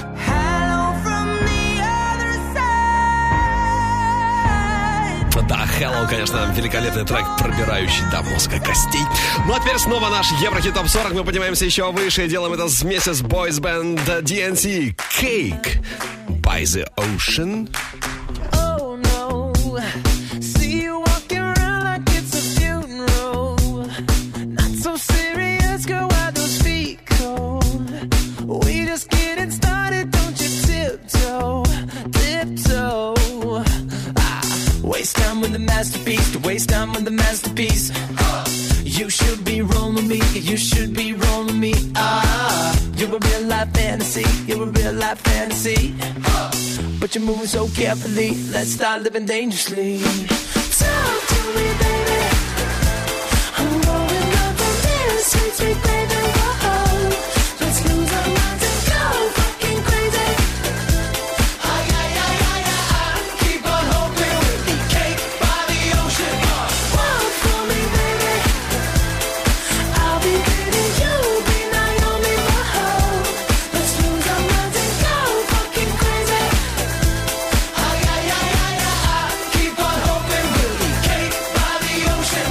Да, Hello, конечно, великолепный трек, пробирающий до мозга костей. Ну а теперь снова наш Еврохит Топ сорок. Мы поднимаемся еще выше и делаем это вместе с Boys Band ди эн си. Cake by the Ocean. Oh no, see you walking around like it's a funeral. Not so serious, girl, why those feet cold? We just getting started, don't you tiptoe, tiptoe. Waste time with the masterpiece, to waste time with the masterpiece. You should be rolling me, you should be rolling me. Ah, you're a real life fantasy, you're a real life fantasy. But you're moving so carefully, let's start living dangerously. Talk to me, baby. I'm going up on this. sweet, sweet baby, whoa. Let's lose our minds and go fucking crazy. Ay, ay, ay, ay, ay, ay. Keep on hoping we'll be cake by the ocean. Walk for me, baby. I'll be pretty, you'll be Naomi, whoa. Let's lose our minds and go fucking crazy. Ay, ay, ay, ay, ay, ay. Keep on hoping we'll be cake by the ocean.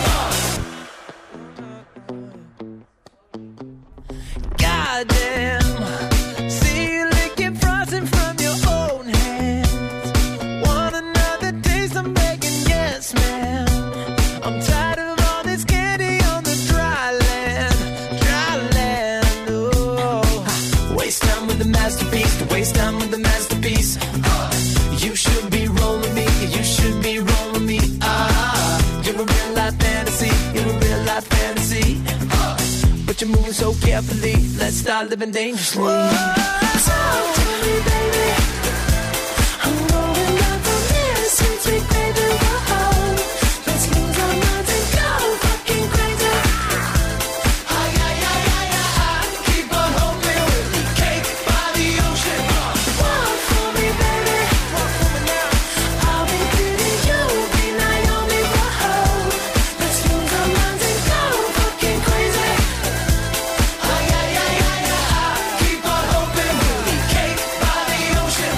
Goddamn. See you licking frosting from your own hands. Want another taste? I'm begging, yes, ma'am. I'm tired of all this candy on the dry land, dry land. Oh, waste time with the masterpiece. To waste time with the masterpiece. Uh, you should be rolling me. You should be rolling me. Ah, you're a real life fantasy. You're a real life fantasy. Uh, but you're moving so carefully. Let's start living dangerously. Talk to me, baby. I'm rolling up on this sweet, sweet baby, whoa. Let's lose our minds and go fucking crazy. Ay, ay, ay, ay, ay, ay. Keep on hoping we'll be cake by the ocean. Walk for me, baby. Walk for me now. I'll be pretty, you'll be Naomi, whoa. Let's lose our minds and go fucking crazy. Ay, ay, ay, ay, ay, ay. Keep on hoping we'll be cake by the ocean.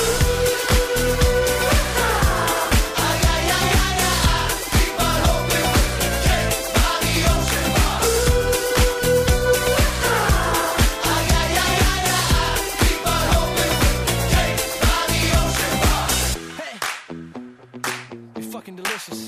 Ay, ay, ay, ay, ay, ay. Keep on hoping we'll be cake by the ocean. Ay, ay, ay, ay, ay, ay. Keep on hoping we'll be cake by the ocean. Hey, you're fucking delicious.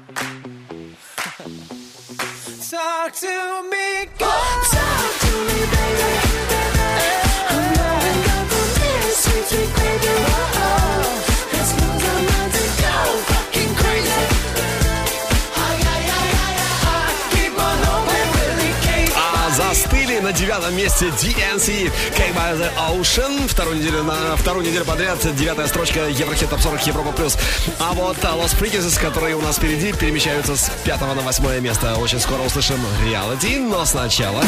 Talk to me, girl. Talk to me, baby. I'm rolling up on this sweet, sweet baby, whoa. Let's lose our minds and go fucking crazy. Ay, ay, ay, ay, ay, ay. Keep on hoping we'll be cake. А застыли на девятом месте ди эн си Cake by the Ocean. Вторую неделю, на вторую неделю подряд девятая строчка Еврохит Топ сорок Европа Плюс. А вот Los Freaks, которые у нас впереди, перемещаются с пятого на восьмое место. Очень скоро услышим Reality, но сначала...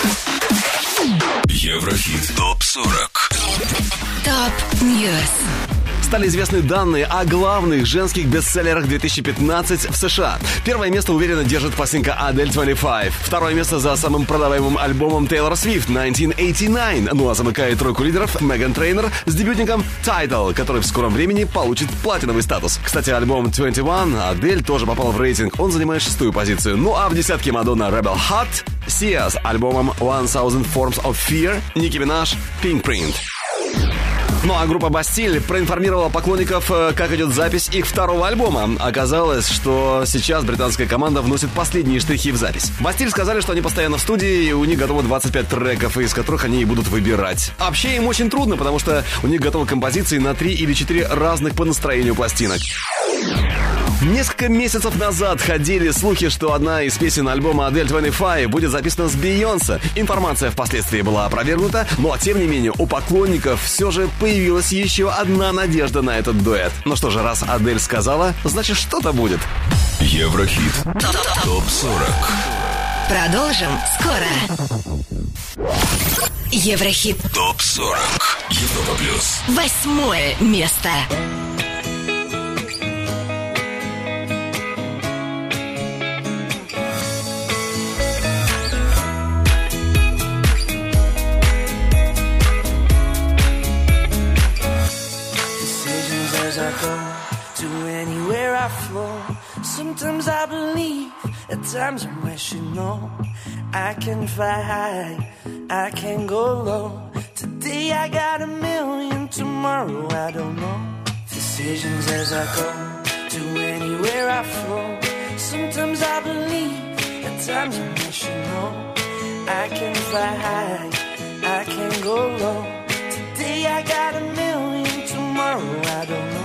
Еврохит Топ сорок. Топ Ньюс. Стали известны данные о главных женских бестселлерах две тысячи пятнадцать в США. Первое место уверенно держит пластинка Адель двадцать пять. Второе место за самым продаваемым альбомом Тейлор Свифт тысяча девятьсот восемьдесят девять. Ну а замыкает тройку лидеров Меган Трейнер с дебютником Tidal, который в скором времени получит платиновый статус. Кстати, альбом двадцать один Адель тоже попал в рейтинг. Он занимает шестую позицию. Ну а в десятке Мадонна Rebel Heart, Sia с альбомом Thousand Forms of Fear, Ники Минаж Pink Print. Ну а группа Бастиль проинформировала поклонников, как идет запись их второго альбома. Оказалось, что сейчас британская команда вносит последние штрихи в запись. Бастиль сказали, что они постоянно в студии, и у них готово двадцать пять треков, из которых они и будут выбирать. Вообще им очень трудно, потому что у них готовы композиции на три или четыре разных по настроению пластинок. Несколько месяцев назад ходили слухи, что одна из песен альбома Адель двадцать пять будет записана с Бейонсе. Информация впоследствии была опровергнута, но тем не менее у поклонников все же появилась еще одна надежда на этот дуэт. Ну что же, раз Адель сказала, значит что-то будет. Еврохит Топ сорок. Продолжим скоро. Еврохит Топ сорок. Европа Плюс. восьмое место. Sometimes I believe, at times I'm rational. I can fly high, I can go low. Today I got a million, tomorrow I don't know. Decisions as I go, to anywhere I flow. Sometimes I believe, at times I'm rational. I can fly high, I can go low. Today I got a million, tomorrow I don't know.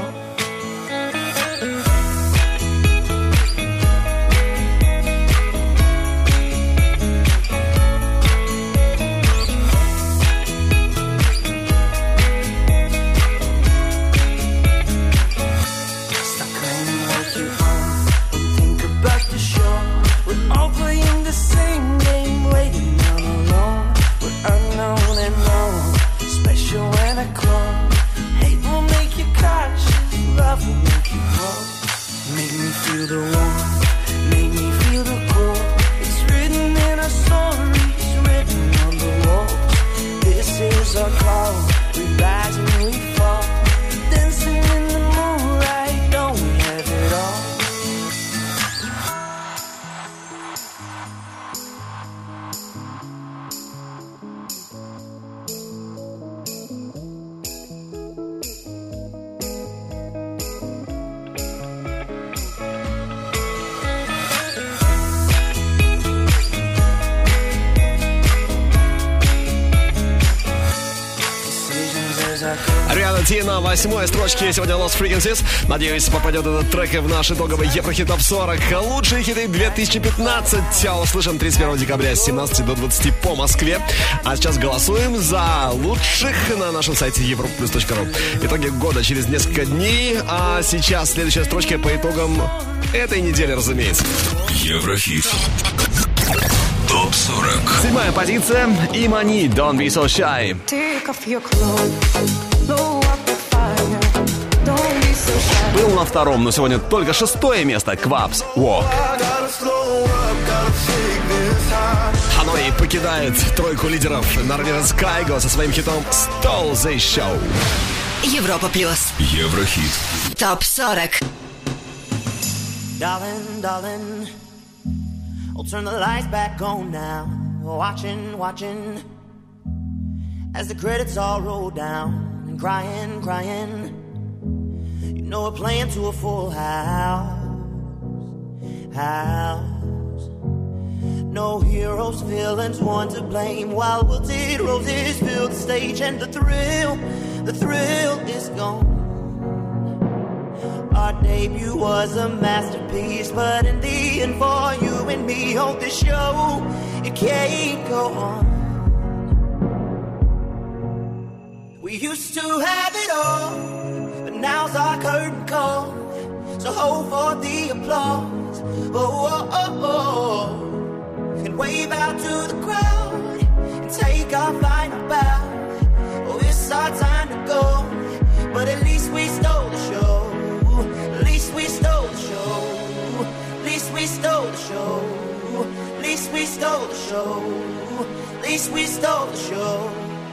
All playing the same game, waiting десяти на восьмой строчке сегодня Lost Frequencies. Надеюсь, попадет этот трек и в наш итоговый Еврохит Топ сорок. Лучшие хиты две тысячи пятнадцать. Услышим тридцать первого декабря с семнадцати до двадцати по Москве. А сейчас голосуем за лучших на нашем сайте европлюс точка ру. Итоги года через несколько дней. А сейчас следующая строчка по итогам этой недели, разумеется. Еврохит. Топ сорок. Седьмая позиция. Имани, Don't Be So Shy. Take off your clothes, blow up the fire. Don't be so shy. Был на втором, но сегодня только шестое место. Квапс, Walk. Ханой покидает тройку лидеров наравне с Кайго со своим хитом Stole the Show. Европа плюс. Еврохит. Топ сорок. Darling, darling, I'll turn the lights back on now. Watching, watching, as the credits all roll down. And crying, crying, you know we're playing to a full house. House. No heroes, villains, one to blame. While wilted roses fill the stage, and the thrill, the thrill is gone. Our debut was a masterpiece, but in the end, for you and me on this show, it can't go on. We used to have it all, but now's our curtain call. So hold for the applause, oh, oh, oh, oh. And wave out to the crowd, and take our final bow. Oh, it's our time to go, but at least we stole the show. At least we stole the show. At least we stole the show. At least we stole the show. At least we stole the show.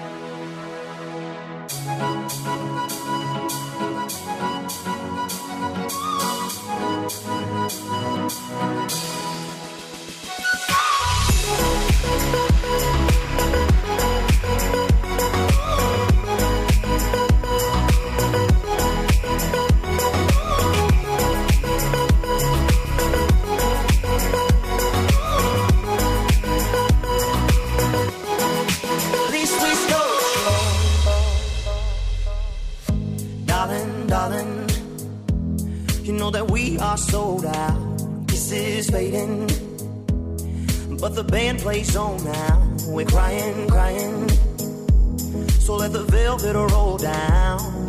That we are sold out, this is fading, but the band plays on now. We're crying, crying, so let the velvet roll down,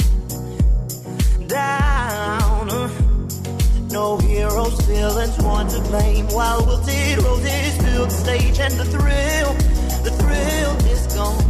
down. No heroes, villains, one to blame. While wilted roses fill the stage, and the thrill, the thrill is gone.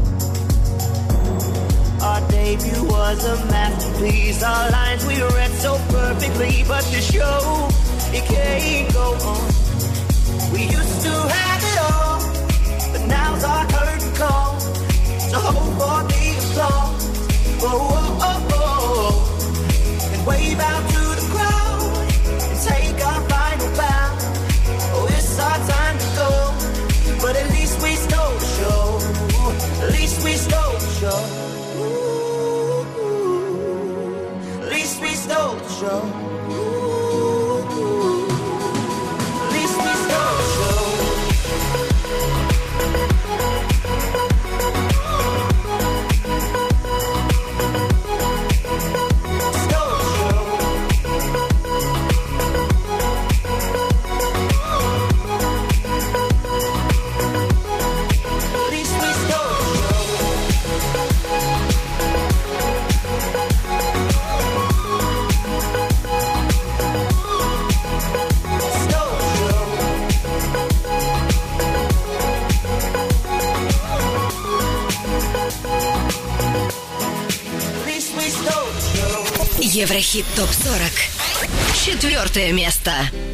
Our debut was a masterpiece. Our lines we read so perfectly, but the show, it can't go on. We used to have it all, but now's our curtain call. So hold for the applause, oh, oh, oh, oh. And wave out to the crowd, and take our final bow. Oh, it's our time to go, but at least we stole the show. At least we stole the show. Stole the show. Ooh, at least we stole the show. Stole the show. At least we stole the show. Еврохит топ сорок. Четвертое место.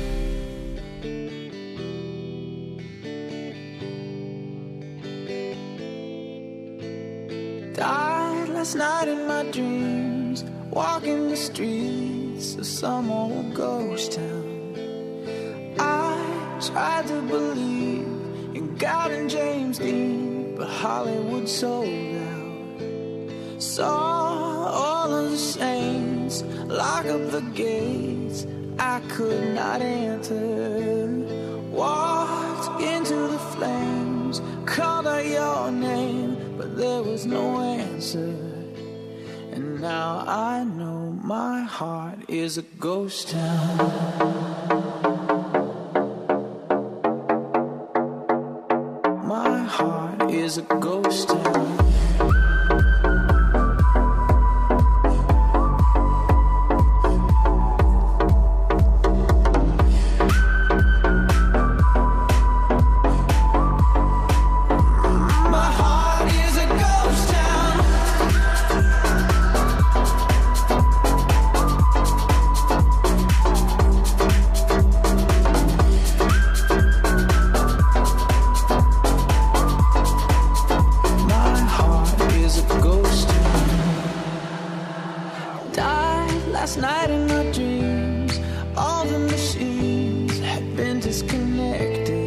Died last night in my dreams, walking the streets of some old ghost town. I tried to believe in God and James Dean, but Hollywood sold out. Saw all of the saints lock up the gates I could not enter. Walked into the flames, called out your name, but there was no answer. And now I know my heart is a ghost town. My heart is a ghost town. Last night in my dreams, all the machines had been disconnected.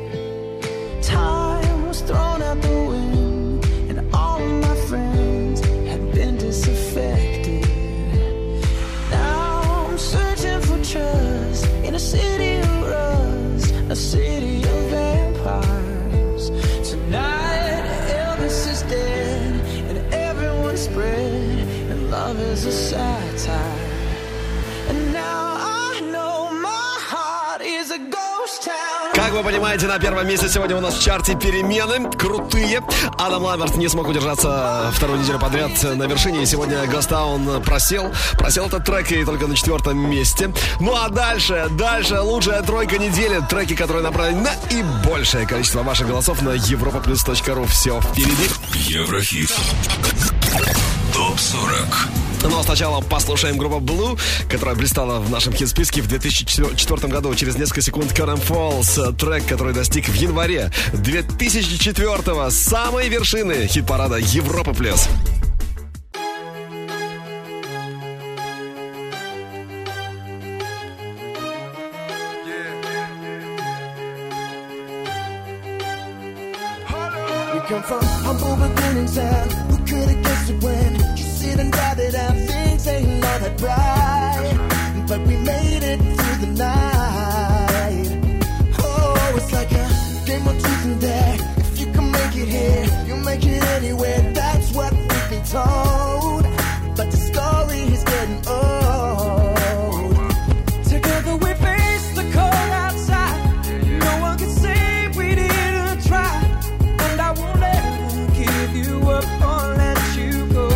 Time was thrown out the wind, and all of my friends had been disaffected. Now I'm searching for trust in a city of rust, a city of vampires. Tonight Elvis is dead, and everyone's spread, and love is a satire. Как вы понимаете, на первом месте сегодня у нас в чарте перемены крутые. Адам Ламберт не смог удержаться вторую неделю подряд на вершине. И сегодня Гостаун просел. Просел этот трек и только на четвертом месте. Ну а дальше, дальше лучшая тройка недели. Треки, которые направлены на и большее количество ваших голосов на европа плюс точка ру. Все впереди. Еврохит. топ сорок. Но сначала послушаем группу Blue, которая блистала в нашем хит-списке в две тысячи четвёртом году. Через несколько секунд Current Falls, трек, который достиг в январе две тысячи четвёртого самой вершины хит-парада Европа плюс. Come from humble beginnings and who could have guessed it when you sit and drive it out, things ain't all that bright, but we made it through the night. Oh, it's like a game of truth and dare. If you can make it here, you make it anywhere. That's what we've been told, but the story is getting old. Together we face the cold outside. No one can say we didn't try. I won't ever give you up or let you go.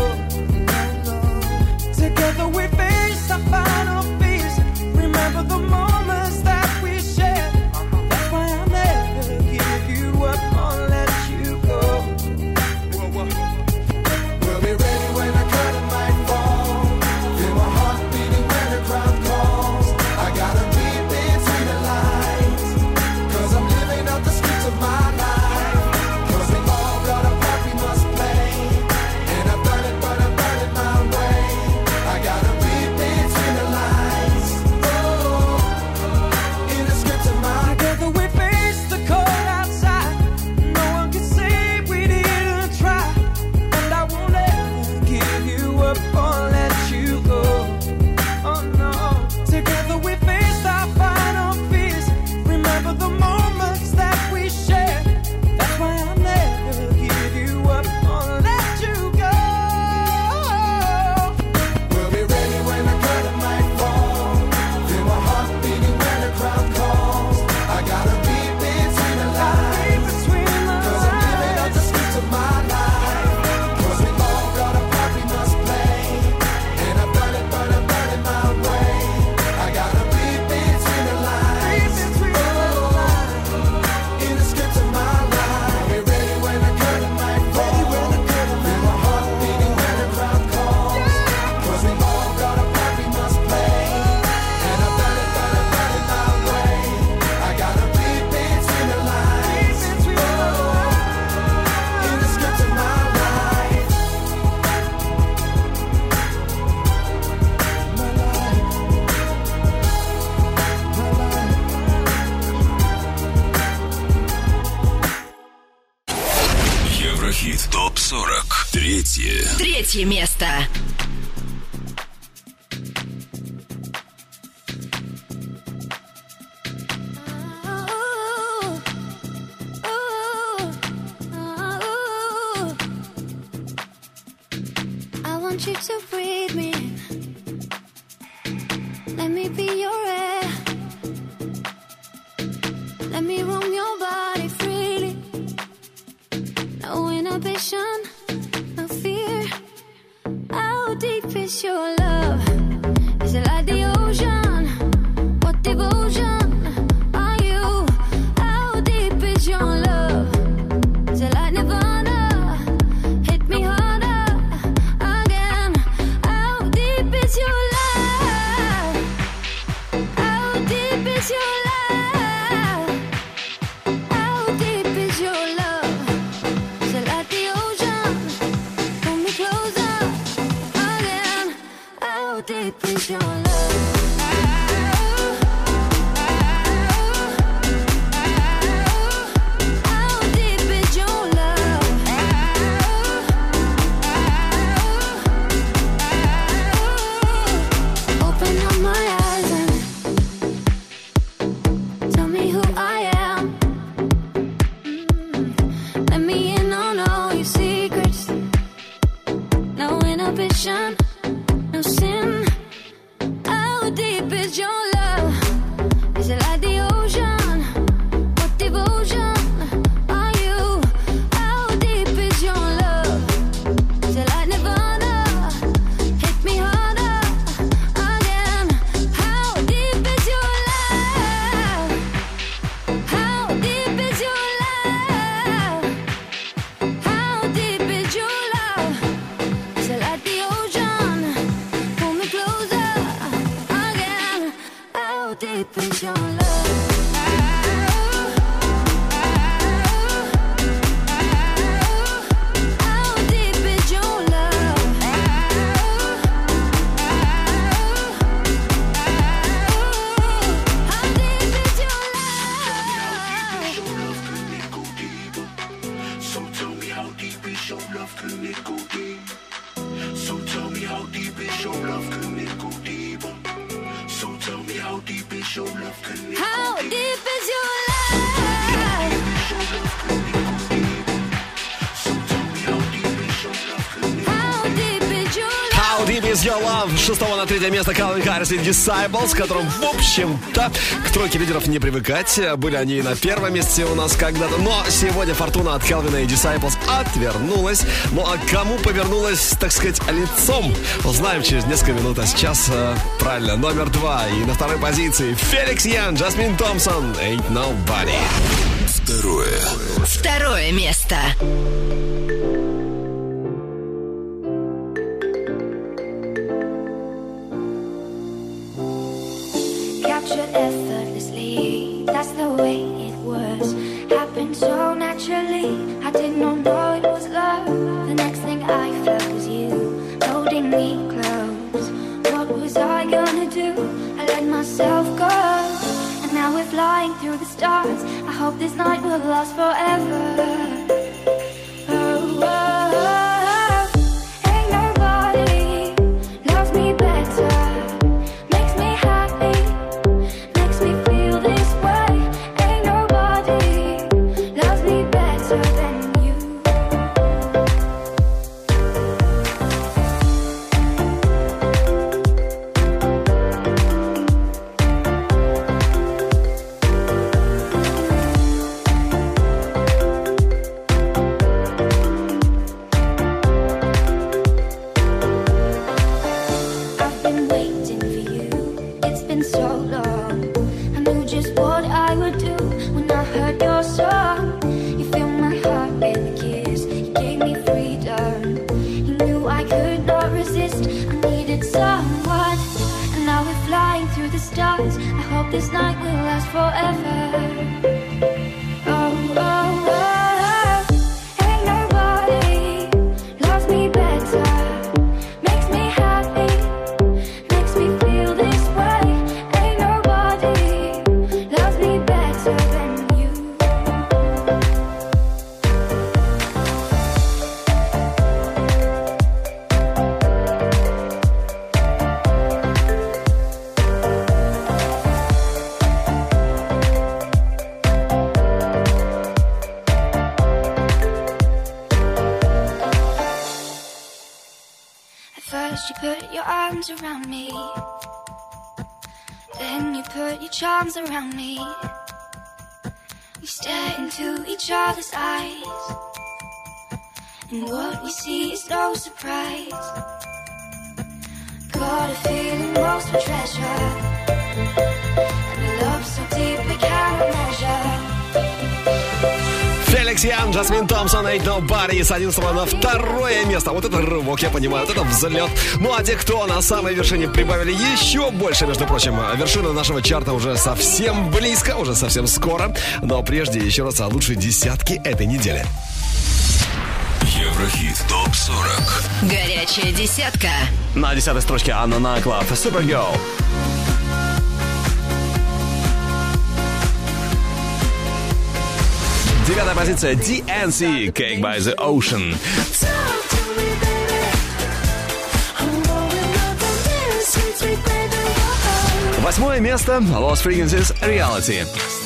Together we face our final fears. Remember the moments that we shared. That's why I'll never give you up or let you go. We'll be ready when the curtain might fall. Feel my heart beating when the crowd calls. I gotta read between the lines, 'cause I'm living out the streets of my life. топ сорок. Третье. Третье место. I want want you to breathe me in. Let me be your air. Let me roam your body freely. No inhibition, no fear. How deep is your love? Is it like the ocean? What devotion are you? How deep is your love? Is it like Nirvana? Hit me harder again. How deep is your love? How deep is your love? How deep is your love? Is it like the ocean? Pull me closer again. How deep is your love? How deep is your love? Open up my eyes and tell me who I am. Mm. Let me in on all your secrets. No inhibition, no sin. How deep is your love? Is it like the ocean? What devotion are you? How deep is your love? Is it like Nirvana? Hit me harder again. How deep is your love? How deep is your love? How deep is your love? Is it like the ocean? Pull me closer again. How deep is your love? How deep is your love? How deep is your love? So tell me how deep is your love, can it go deep? So tell me how deep is your love, can it go deeper? So tell me how deep is your love, can it go How deep? deep is your love? How deep is your love? How Deep Is Your Love. С шестого на третье место Калвин Харрис и Disciples, с которым, в общем-то, к тройке лидеров не привыкать. Были они и на первом месте у нас когда-то. Но сегодня фортуна от Калвина и Disciples отвернулась. Ну а кому повернулась, так сказать, лицом, узнаем через несколько минут. А сейчас, э, правильно, номер два. И на второй позиции Феликс Ян, Джасмин Томпсон, Ain't Nobody. Второе. Второе место. Captured effortlessly, that's the way it was. Happened so naturally, I did not know it was love. The next thing I felt was you, holding me close. What was I gonna do? I let myself go. And now we're flying through the stars. I hope this night will last forever. Oh, oh, oh. Ain't nobody loves me better. Makes me happy, makes me feel this way. Ain't nobody loves me better than you. I've been waiting for you, it's been so long. I knew just what I would do when I heard your song. You filled my heart with a kiss, you gave me freedom. You knew I could not resist, I needed someone. And now we're flying through the stars. I hope this night will last forever. Oh, oh, oh. Ain't nobody loves me better. Makes me happy, makes me feel this way. Ain't nobody loves me better than you. First you put your arms around me, then you put your charms around me. We stare into each other's eyes, and what we see is no surprise. Got a feeling most for treasure, and a love so deep we cannot measure. Феликс Ян, Джасмин Томпсон, Ain't Nobody с одиннадцатого на второе место. Вот это рывок, я понимаю, вот это взлет. Ну а те, кто на самой вершине, прибавили еще больше, между прочим. Вершина нашего чарта уже совсем близко, уже совсем скоро. Но прежде еще раз о лучшей десятке этой недели. Еврохит топ сорок. Горячая десятка. На десятой строчке Анна Наклав, Supergirl. Девятая позиция ди эн си, Cake by the Ocean. Восьмое место Lost Frequencies, Reality.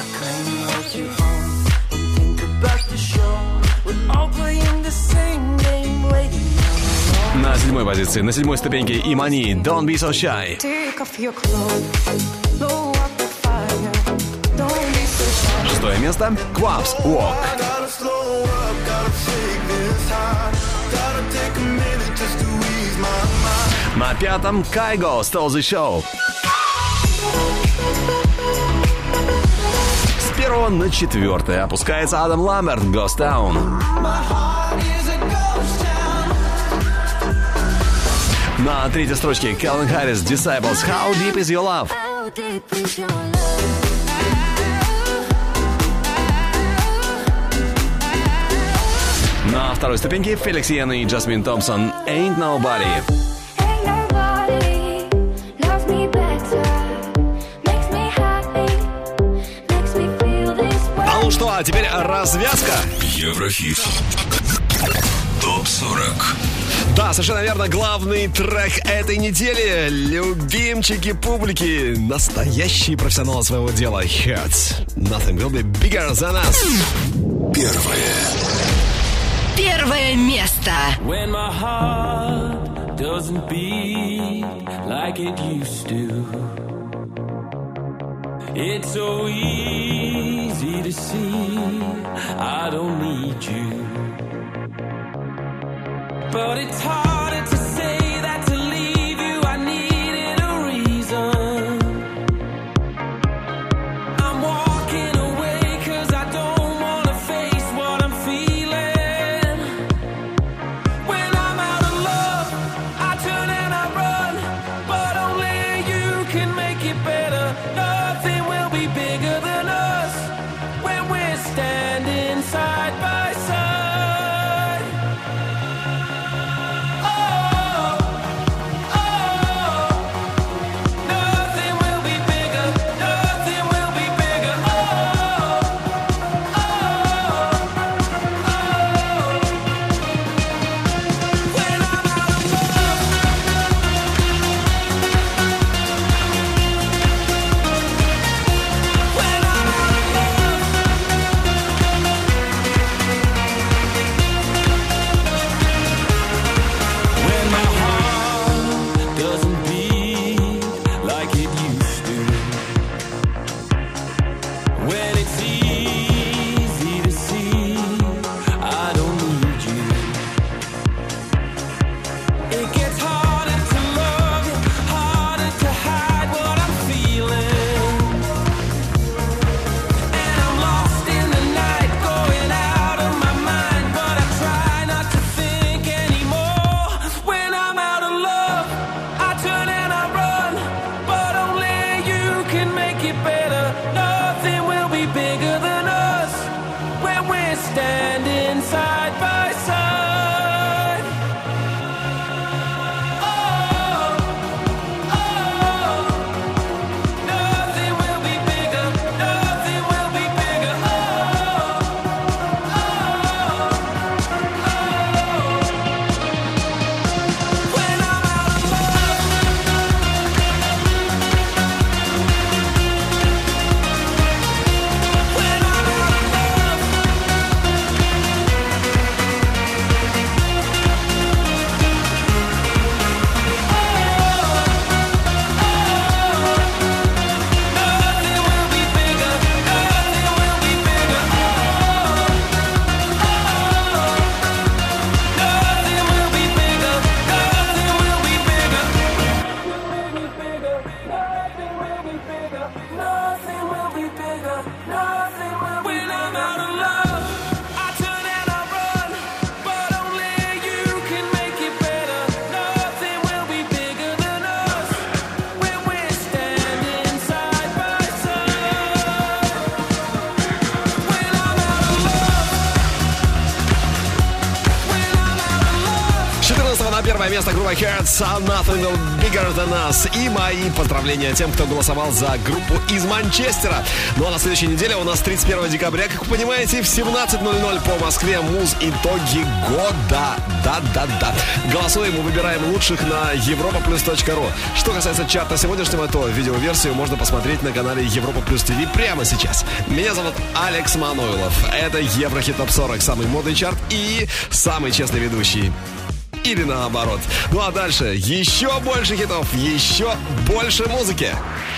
На седьмой позиции, на седьмой ступеньке Имани, Don't Be So Shy. Шестое место Quabs, Walk. На пятом Kygo, Stole the Show. С первого на четвертое опускается Адам Ламберт, Ghost Town. На третьей строчке Calvin Harris, Disciples, How Deep Is Your Love. На второй ступеньке Феликс Йен и Джасмин Томпсон, Ain't Nobody. А ну что, а теперь развязка. Еврохит топ сорок. Да, совершенно верно, главный трек этой недели. Любимчики публики, настоящие профессионалы своего дела. Hurts. Nothing will be bigger than us. Первое. Первое место. When my heart doesn't beat like it used to, it's so easy to see I don't need you. But it's harder to say that to leave you I needed a reason. I'm walking away cause I don't wanna face what I'm feeling. When I'm out of love, I turn and I run, but only you can make it better. Nothing will be bigger than us when we're standing side by side. первое место группа Hearts, Nothing Bigger Than Us. И мои поздравления тем, кто голосовал за группу из Манчестера. Ну а на следующей неделе у нас тридцать первого декабря, как вы понимаете, в семнадцать ноль ноль по Москве муз итоги года. Да-да-да. Голосуем и выбираем лучших на европа плюс точка ру. Что касается чарта сегодняшнего, то видеоверсию можно посмотреть на канале Европа Плюс ТВ прямо сейчас. Меня зовут Алекс Мануилов. Это Еврохит Топ сорок, самый модный чарт и самый честный ведущий. Или наоборот. Ну а дальше еще больше хитов, еще больше музыки.